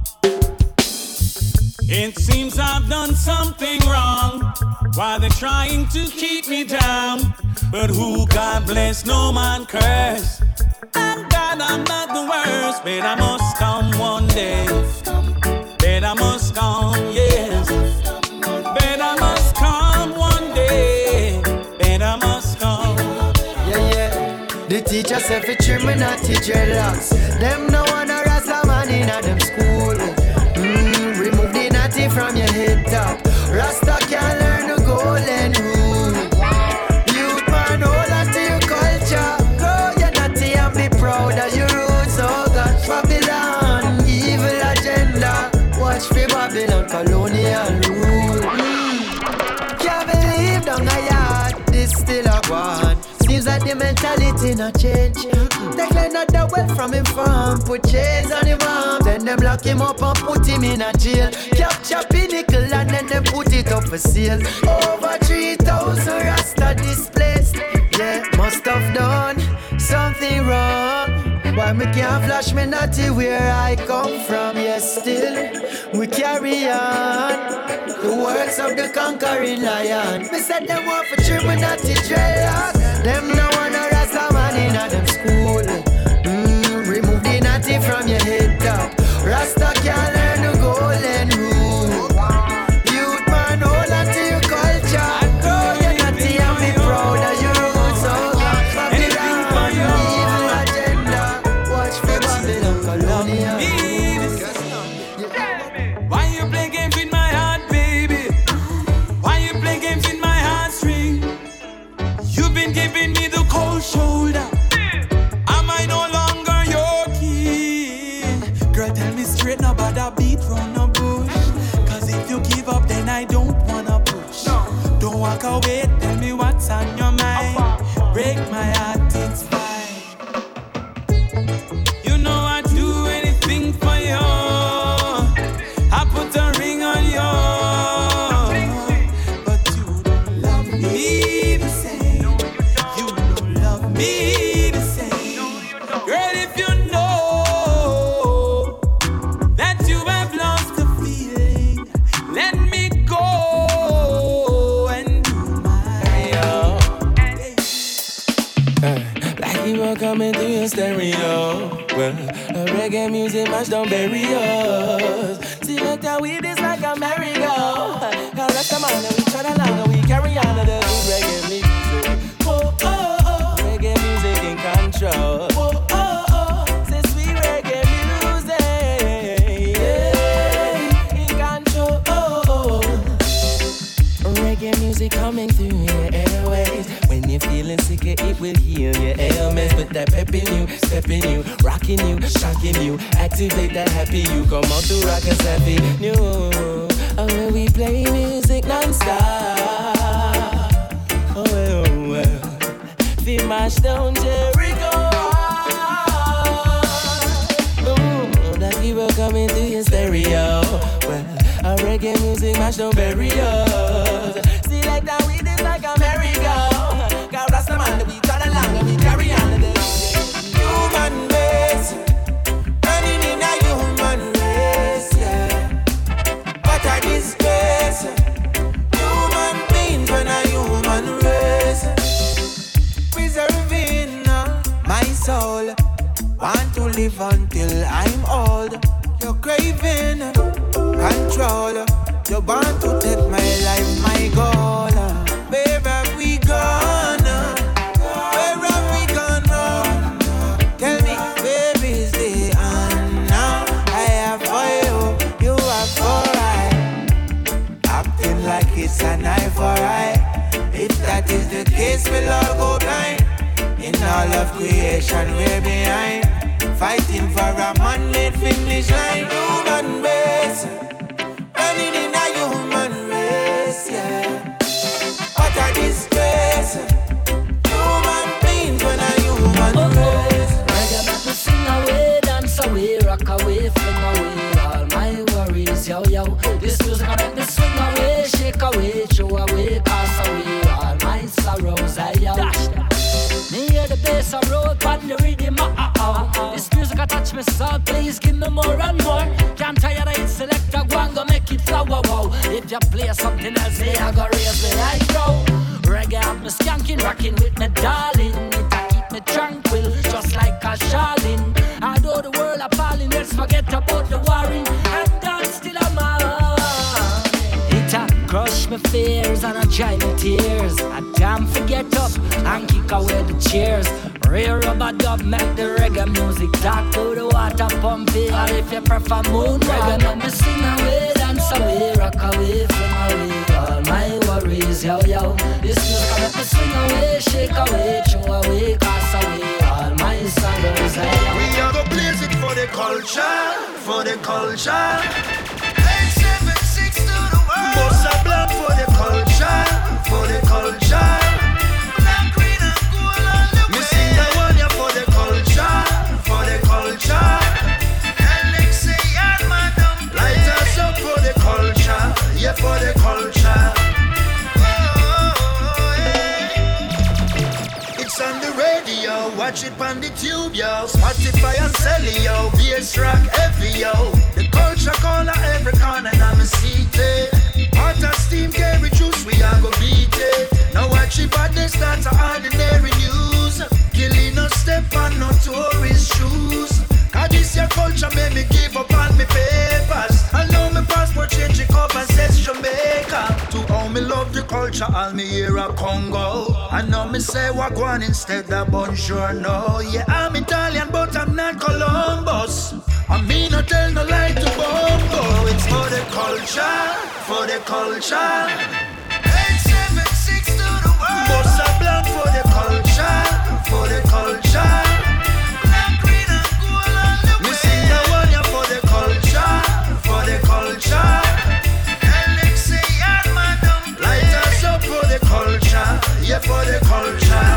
It seems I've done something wrong while they're trying to keep me down. But who God bless, no man curse. And God, I'm not the worst, but I must come one day. But I must come, yes. But I must come one day. But I must come. Yeah, yeah. The teacher said for children not teach dreadlocks. Them no one a Rasta man in a them school. Remove the natty from your head top. Rasta can learn the golden rule. Youth man, hold on to your culture. Grow your natty and be proud of your roots. Oh God, Babylon, evil agenda. Watch for Babylon, colonial rule. Mm. Can't believe down a yard, this still a one. Seems like the mentality not change. They clean out the wealth from him farm, put chains on him arm. Then them lock him up and put him in a jail. Capture pinnacle and then them put it up for sale. Over three thousand Rasta displaced. Yeah, must have done something wrong. Why me can't flash me natty where I come from? Yes, still we carry on the words of the conquering lion. Me said them want for trim me natty dreadlocks. Them no one a Rasta man in a them school. Mm, remove the natty from your head top. Rasta can't learn the golden rule. Youth man, hold on to your culture. Grow your natty and be proud of your roots. Oh God, Babylon, evil agenda. Watch for Babylon, colonial. Why you play games with my heart, baby? Why you play games with my heartstring? You've been giving me the people coming through your stereo. Well, a reggae music match don't bury us. Select our weed is like a merry-go. Cause that's the man that we turn along and we carry on to the good reggae music. Whoa, oh, oh, reggae music in control. Whoa, oh, oh, say sweet reggae music. Yeah, in control. Oh, oh. Reggae music coming through your airways. When you're feeling sick, it will heal your ailments. Put that pep in you, step in you, rocking you, shocking you. Activate that happy you. Come on to rock us happy new. Oh, when we play music non-stop. Oh, well, well. We mash down Jericho. Oh, that people coming through your stereo. Well, our reggae music mash down bury us. See like that we did like a merry-go. God rasta man that we turn along and we carry on to the human race. Running in a human race, yeah. What a disgrace. Human beings when a human race. Preserving uh, my soul. Want to live until I'm old. You're craving control. You want to take my life, my goal. Where have we gone? Where have we gone wrong? Tell me, where is the now? I have for you, you have for I. Acting like it's an eye for eye. If that is the case, we'll all go blind. In all of creation, we're behind. Fighting for a man-made finish line. Human race, running in a human race, yeah. What a disgrace. Human beings when a human Oh, oh. race. Reggae make me sing away, dance away, rock away, fling away all my worries, yo, yo. This music I make me swing away, shake away, throw away, pass away all my sorrows, hey, yo. Dash, dash. Me hear the bass I roll on the rhythm, uh, uh, uh. This music I touch me so please give me more and more. Can't tire of it, select a go and go make it flower, wow. If you play something else, hey, I go raise me like crow. Reggae have me skanking, rocking with me darling. It a keep me tranquil, just like a Charlene. Although the world appalling, let's forget about the warring and dance till I'm out. It a crush me fears and a dry me tears. I damn forget up and kick away the cheers. Real rubber dub make the reggae music talk to the water pumping. Or if you prefer moon reggae, make me sing away, dance away, rock away, fling away all my worries, yo yo. This music make me swing away, shake away, throw away, cast away all my sorrows, yo yo. We are gonna blaze it for the culture, for the culture. eight seven six to the world. Bossa Blanc for the culture, for the culture. Black, green and gold all the way. Me sing the one here for the culture, for the culture. Alexei and Madam, light us up for the culture, yeah for the culture. Oh, yeah. It's on the radio, watch it on the tube, yo. Spotify and Celly, yo. Bass rock heavy, yo. The culture corner every corner, and I'm a seated. Hot as steam, carry juice, we are go beat it. Now watch it, but they start to ordinary news. Killing no step on no tourist shoes. Cause this your culture made me give up on me papers. I know my passport change it up and says Jamaica. To all me love the culture, all me hear a Congo. I know me say Wagwan instead of bonjour, no. Yeah, I'm Italian, but I'm not Columbus. I mean, I tell no lie to Bongo. It's for the culture, for the culture. eight seven six to the world. Bossa Blanc for the culture, for the culture. Black, green and gold all the way. We sing the one here for the culture, for the culture. Alexei and Madam, light us up for the culture, yeah for the culture.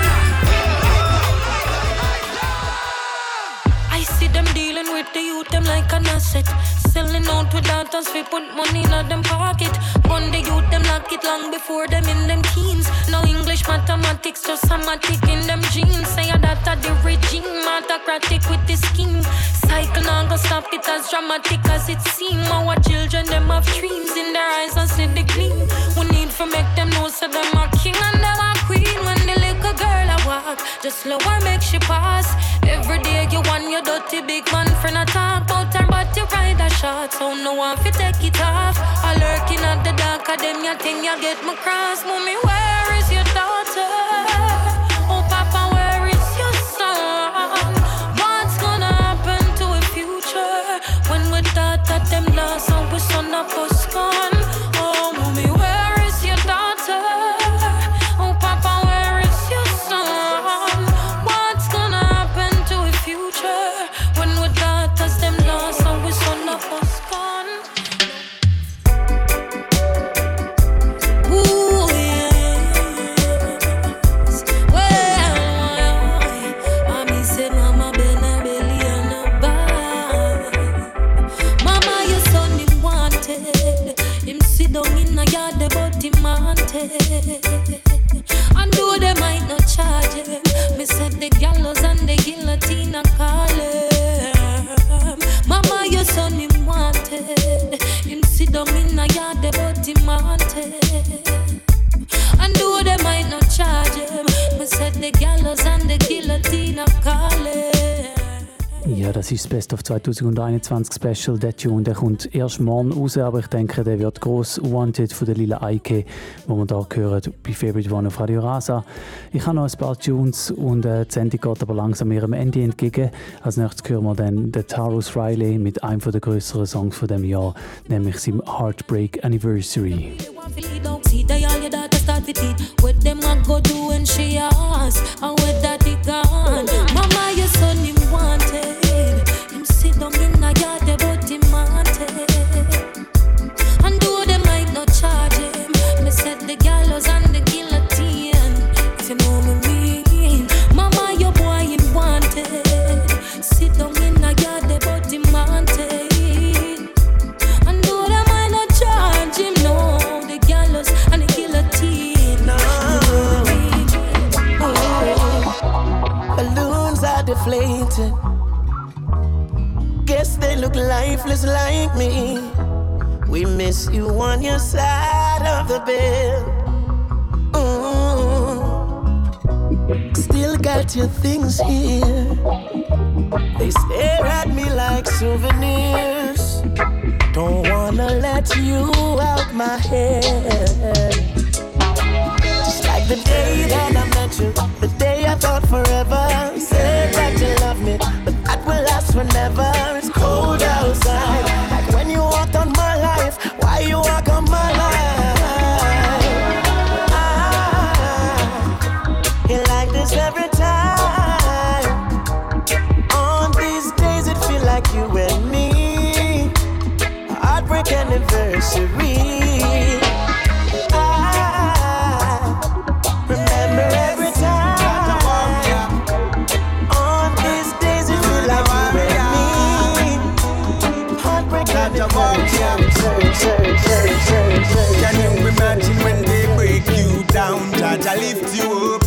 I see them dealing with the youth, them like an asset. Selling out without us, we put money in them pocket. Gun the youth, them lock it long before them in them teens. No English, mathematics, just somatic in them genes. Say that at the regime, autocratic with the scheme. Cycle now go stop it as dramatic as it seems. Our children, them have dreams in their eyes and see the gleam. We need to make them know so them are king and them are queen. When the little girl I walk, just slow her, make she pass. Every day you want your dirty big man friend a talk about her, but you ride a shot, so no one fi take it off. I lurking at the dark of them, you think you get me cross. Mommy, where is your daughter? Oh, Papa, where is your son? What's gonna happen to a future when we thought that them lost and we son of us gone? Oh, mommy, where is your daughter? Oh, Papa, where is your son? What's gonna happen to a future when we thought that them lost and we son of us gone? Ooh, yes. Well, mommy said, Mama, been a belly and a bag. Mama, your son him wanted. Him sit down in a yard, but him wanted. And though they might not charge him, me said the gallows and the guillotine a call him. Mama, your son him wanted. Him sit down in a yard, but him wanted. And though they might not charge him, me said the gallows and the guillotine a call him. Ja, das ist das Best of zwanzig einundzwanzig Special. Der Tune, der kommt erst morgen raus, aber ich denke, der wird gross. Wanted von der Lila Eike, wo wir hier hören bei Favorite One auf Radio Rasa. Ich habe noch ein paar Tunes und äh, die Sendung geht aber langsam ihrem Ende entgegen. Als nächstes hören wir dann den Tarrus Riley mit einem der grösseren Songs von dem Jahr, nämlich seinem Heartbreak Anniversary. See they all your daughter start with it. What them a go do when she ask? And where that it gone? Mama, your son him wanted. Him sit down in a yard, but him wanted. And though they might not charge him, me said the gallows and the guillotine. If you know me mean, Mama, your boy him wanted. Sit down in a yard, but him wanted. And though they might not charge him, no. And the guillotine. No. Oh. Balloons are deflated. Guess they look lifeless like me. We miss you on your side of the bed. Ooh. Still got your things here. They stare at me like souvenirs. Don't wanna let you out my head. Just like the day that I met you, the day I thought forever. You said that you love me, but that will last forever. It's cold outside, like when you walked on my life. Why you walk on my life? Ah, you like this every time. On these days it feel like you and me. Heartbreak anniversary. I remember every time. On these days it feel like you and me. Heartbreak anniversary. Can you imagine when they break you down? Jaja lift you up.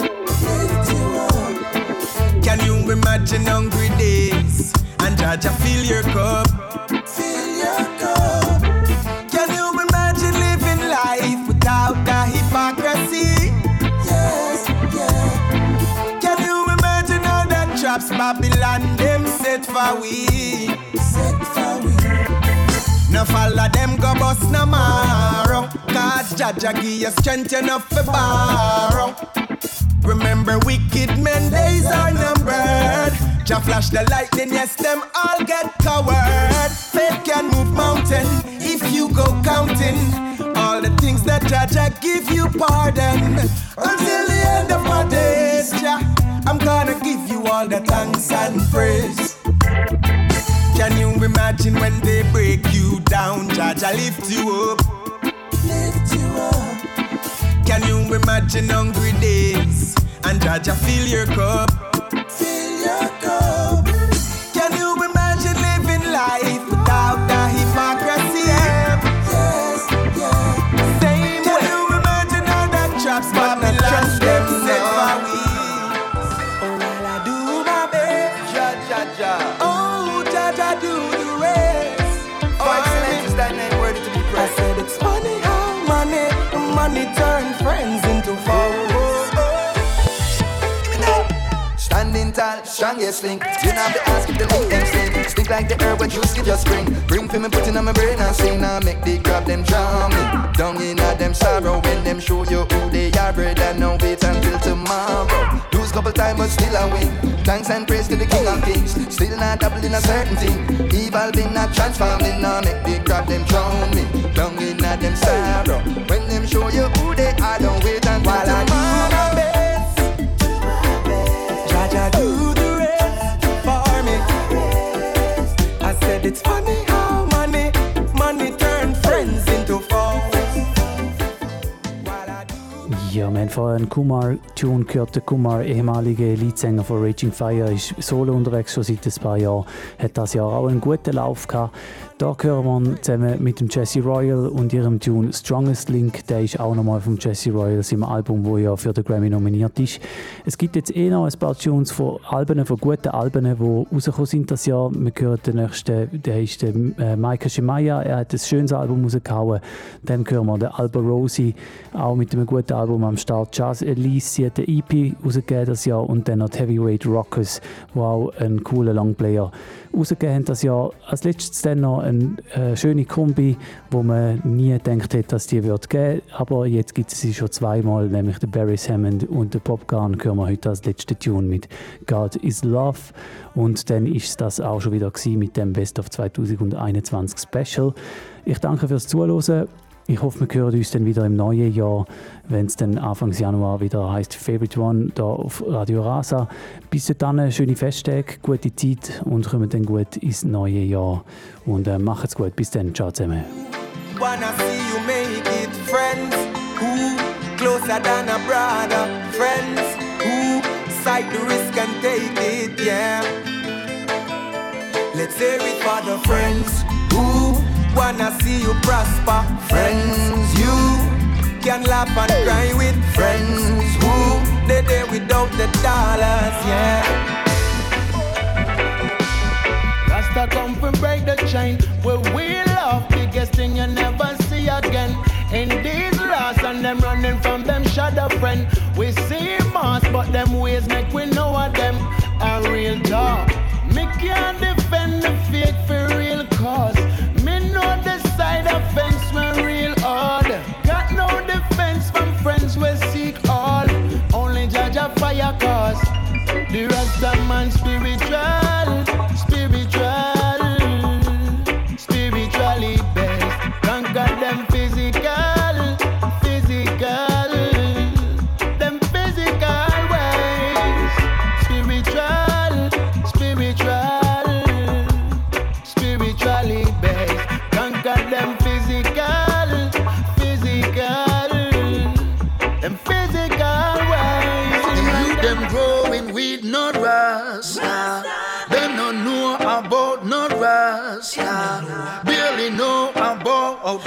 Can you imagine hungry days and Jaja fill your cup? Can you imagine living life without the hypocrisy? Yes, yeah. Can you imagine all the traps Babylon them set for we? Set for we. Now follow them go bust no marrow. Cause Jaja give you strength enough for borrow. Remember wicked men days are numbered. Jah flash the lightning, yes, them all get covered. Faith can move mountain if you go counting all the things that Jah give you pardon. Until the end of my days, Jah, I'm gonna give you all the thanks and praise. Can you imagine when they break you down? Jah lift you up. Lift you up. Can you imagine hungry days and Jah fill your cup? Fill your cup. Can you imagine living life without the hypocrisy? Yes, yeah. Same Can way. You imagine all the traps Babylon them set for we? Oh, while I do my best, Jah, Jah, Jah. Oh, Jah, Jah do the rest. Oh, excellence is that name worthy to be praised. I said it's funny how money, money turn friends into foes. Standing strongest link. You know the ask if the link them sling. Stick like the herb when juice give your spring. Bring for me putting on my brain and sing. Now make the grab them drown me. Down in a them sorrow when them show you who they are, brother. Now wait until tomorrow. Lose couple times but still I win. Thanks and praise to the King of Kings. Still not double in a certain thing. Evil been not transforming. Now make the grab them drown me. Down in a them sorrow when them show you who they are. Don't wait until While tomorrow. I do my best, Jaja do the rest for me. I said it's funny how money, money turn friends into foes. Ja, wir haben vorher einen Kumar-Tune gehört. Der Kumar, ehemaliger Leadsänger von Raging Fire, ist solo unterwegs schon seit ein paar Jahren. Hat das Jahr auch einen guten Lauf gehabt. Da hören wir zusammen mit dem Jesse Royal und ihrem Tune Strongest Link. Der ist auch nochmal vom Jesse Royal, seinem Album, das ja für den Grammy nominiert ist. Es gibt jetzt eh noch ein paar Tunes von Alben, von guten Alben, die rausgekommen sind das Jahr. Wir hören den nächsten, der ist der äh, Micah Shemaiah. Er hat ein schönes Album rausgehauen. Dann hören wir den Alba Rosie, auch mit einem guten Album am Start. Jazz Elise, sie hat eine E P rausgegeben das Jahr. Und dann noch die Heavyweight Rockers, die auch einen coolen Longplayer rausgegeben haben das Jahr. Als letztes dann noch eine äh, schöne Kombi, wo man nie gedacht hätte, dass die wird geben. Aber jetzt gibt es sie schon zweimal, nämlich den Barry Hammond und den Popgun. Hören wir heute als letzte Tune mit God is Love. Und dann ist das auch schon wieder gewesen mit dem Best of zwanzig einundzwanzig Special. Ich danke fürs Zuhören. Ich hoffe, wir hören uns dann wieder im neuen Jahr, wenn es dann Anfang Januar wieder heisst Favorite One hier auf Radio Rasa. Bis dann, schöne Festtage, gute Zeit und kommen dann gut ins neue Jahr. Und äh, macht's gut. Bis dann. Ciao zusammen. Wanna see you make it, friends who closer than a brother, friends who sight the risk and take it, yeah. Let's hear it for the friends who wanna see you prosper, friends you can laugh and cry with, friends who they there without the dollars, yeah. Rasta come from break the chain, where we love biggest thing you never see again. In these lost and them running from them shadow friend. We see mass but them ways make we know of them a real talk. Me can't defend the fake for real cause. Me know the side of fence when real hard. Got no defense from friends we seek all. Only judge a fire cause. The Rasta man spiritual, spiritual, spiritually best. Conquer them physical, physical, them physical ways. Spiritual, spiritual, spiritually best. Conquer them physical, physical, them physical ways. You them growing with no rasta. Them no know about no rasta. Barely know about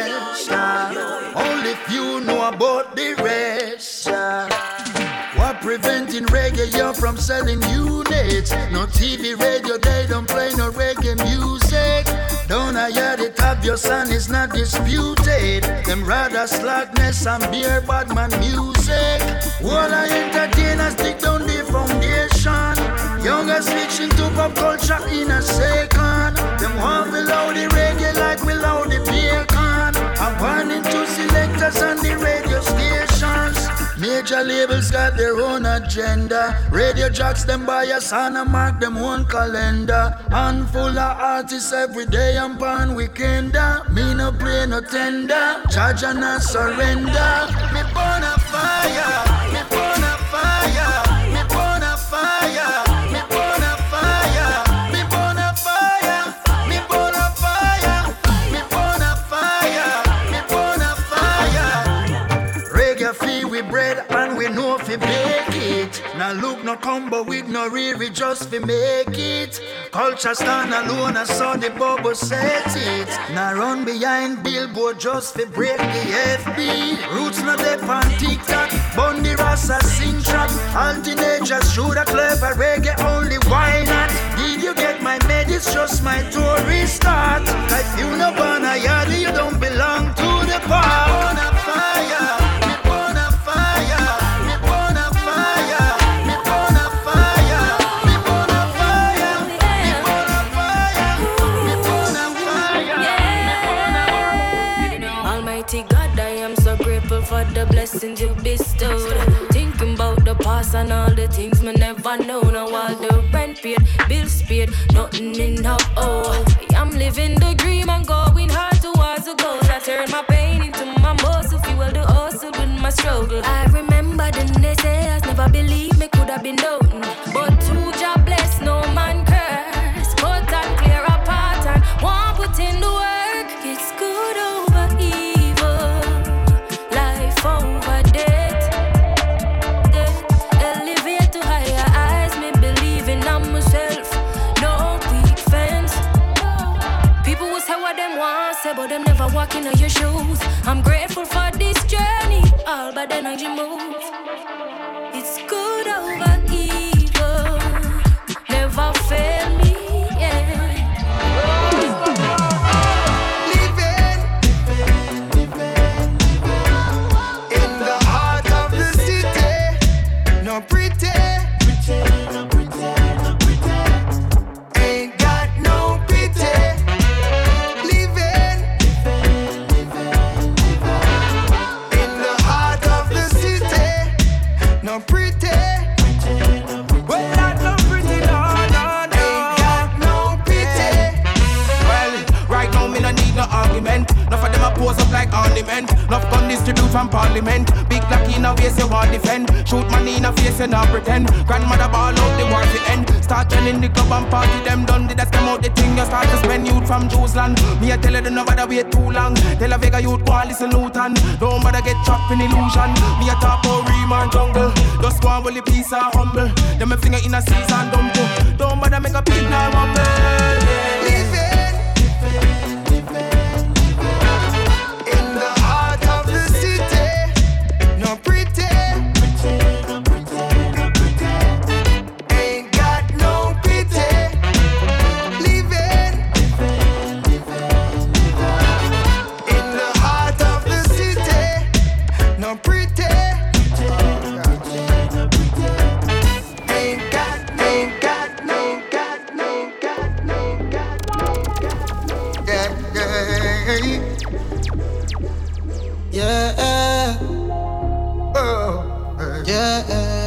nesta. Only few know about the rest. What preventing reggae you from selling units? No T V, radio, they don't play no reggae music. Don't I hear it obvious and it's not disputed. Them rather slackness and beer badman music. All I entertainers dig down the foundation. Younger switching to pop culture in a second. Them want below the reggae like below the bacon. I'm warning to selectors and the radio stations. Major labels got their own agenda. Radio jocks them buy a son and mark them own calendar. Handful of artists every day and pan weekender. Me no play no tender. Judge and not surrender. Me burn a fire. Me burn a fire. Me burn a fire. Me burn a fire. Me burn a fire. Me burn a fire. Me burn a fire. Me burn a fire. Reggae feel we bread and we know fi make it. Now look no combo with no riri just fi make it. Culture stand alone and saw the bubble set it. Now run behind billboard just fi break the F B. Roots not up on TikTok, Bundy Rasta sing track. All teenagers shoot a clever reggae only, why not? Did you get my med? It's just my tourist start. If you no born a yard, you don't belong to the park. On a fire. the past and all the things me never know. Now all the rent paid, bills paid, nothing enough. Oh, I'm living the dream and going hard towards the goals. I turn my pain into my muscle, fuel the hustle with my struggle. I remember the naysayers never believed me could have been done, but two job bless, no man curse. Cut and clear apart and one put in the work. It's good over evil, life over death. Death elevate to higher heights, me believing on myself. No weak fence. People will say what them want, say, but them never walk in your shoes. I'm grateful for this journey, all by the energy move. It's good over evil, never fail me, yeah. Living in the heart of the city, no pretend, no pretend, no pretend. Ain't got no pity. Living in the heart of the city, no pretend. Well, not no pretty, no, no, no. Ain't got no pity. Well, right now me no need no argument. Enough of them a pose up like ornament. Enough gun distribute from parliament. Big black in a face you want defend. Shoot money in a face you not pretend. Grandmother ball out the war to end. Start telling the club and party them done. Did that come out the thing you start to spend youth from Jerusalem. Me a tell you don't know bother wait too long. Tell a Vega youth go and listen Luton. Don't bother get trapped in illusion. Me a talk about Riemann jungle. Just one will the peace are humble. Them a finger in a season dumb too. Don't bother make a pig now rumble. Living in the heart of the city, no pretend, ain't got no pity. Living in the heart of the city, no pretend. Ain't got, ain't got, no got, no got, no got, no got. Yeah, yeah, yeah. Oh, yeah.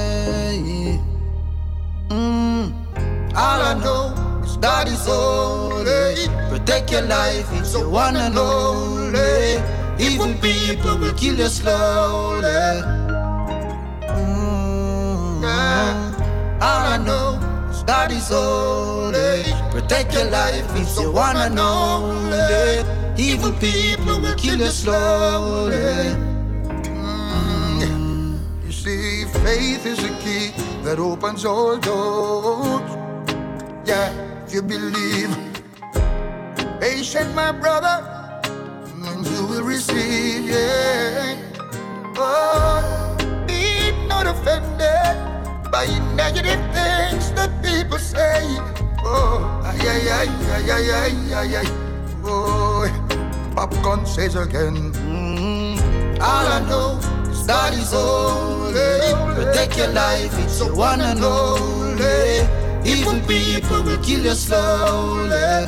Mm. All I know is God is holy. Protect your life, it's the one and only. Evil people will kill you slowly. Mm. Yeah. All I know is God is holy. Protect your life, it's the one and only. Evil people will kill you slowly. Mm. You see, faith is a key that opens all doors. Yeah, if you believe, patient, my brother, and you will receive. Yeah. Oh, be not offended by negative things that people say. Oh, ay, ay, ay, ay, ay, ay, ay, ay. Oh, popcorn says again. Mm. All I know is God is holy. Protect your life, it's the one and only. Evil people will kill you slowly.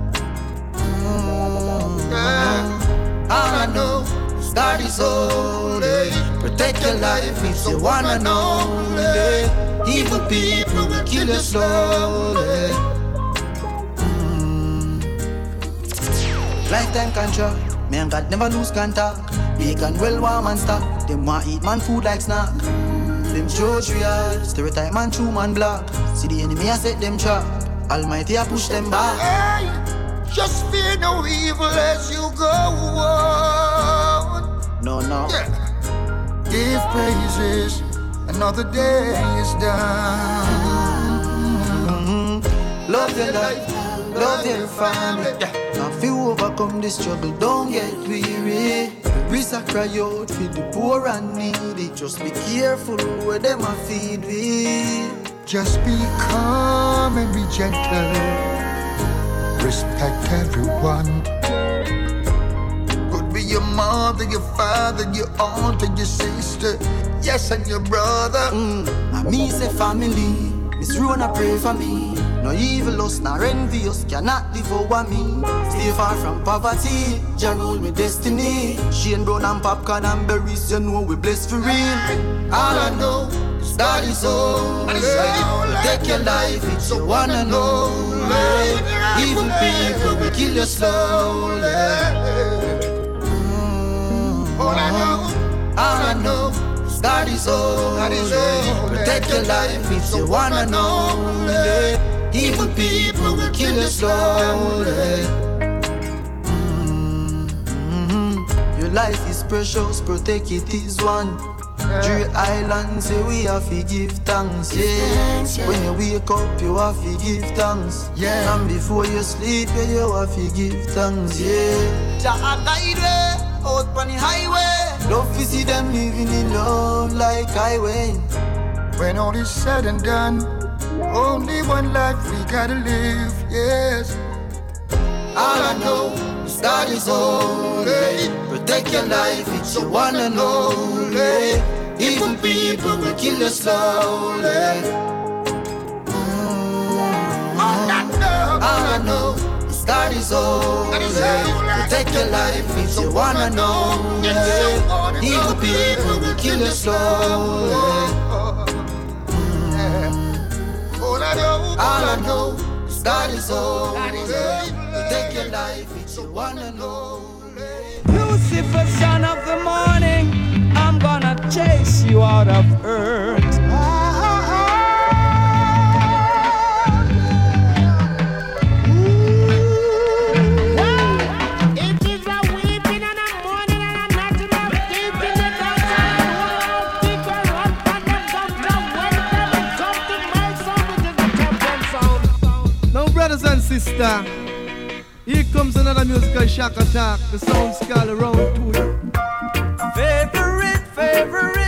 Mm. Yeah. All I know is God is holy. Protect your life, it's the one and only. Evil people will kill you slowly. Lifetime contract, me and God never lose contact. Bacon well warm and stock. Them want eat man food like snack. Them judge real, stereotype man true man black. See the enemy I set them trap. Almighty I push them back. Hey, just fear no evil as you go on. No, no. Yeah. Give praises, another day is done. Mm-hmm. Love your life, love your family. Yeah. Now if you overcome this struggle, don't get weary. We cry out for the poor and needy. Just be careful where them a feed with. Just be calm and be gentle. Respect everyone. Could be your mother, your father, your aunt and your sister. Yes, and your brother. Mm. And me say family. Miss Rona pray for me. No evil lust, nor envious cannot live over me. Stay far from poverty, Jah rule me destiny. Shane brown and popcorn and berries, you know we blessed for real. All I know is God is holy. Take your life, it's a one and only. Evil people will kill you slowly. Mm-hmm. All I know, all I know, God is holy. Protect your life, it's a one and only. Evil people will kill you slowly. Mm-hmm. Your life is precious, protect it is one. Three islands, say we have to give thanks, yeah. When you wake up, you have to give thanks, yeah. And before you sleep, yeah, you have to give thanks, yeah. Jah guide way, out on the highway. Love to see them living in love like highway. When all is said and done, only one life we gotta live, yes. All I know is God is holy. Protect your life, it's your one and only. Evil people will kill you slowly. Mm-hmm. All I know is God is holy. Protect your life, it's your one and only. Evil people will kill you slowly. Mm-hmm. All I know is God is holy. Protect your life, it's your one and only. Lucifer, son of the morning, I'm gonna chase you out of earth. It is a weeping and a mourning and a not enough deep in the dark. People run from them down to when them come to my sound, which is the champion sound. Now, brothers and sisters, here comes another musical shock attack. The sound skull around to you. Favorite, favorite.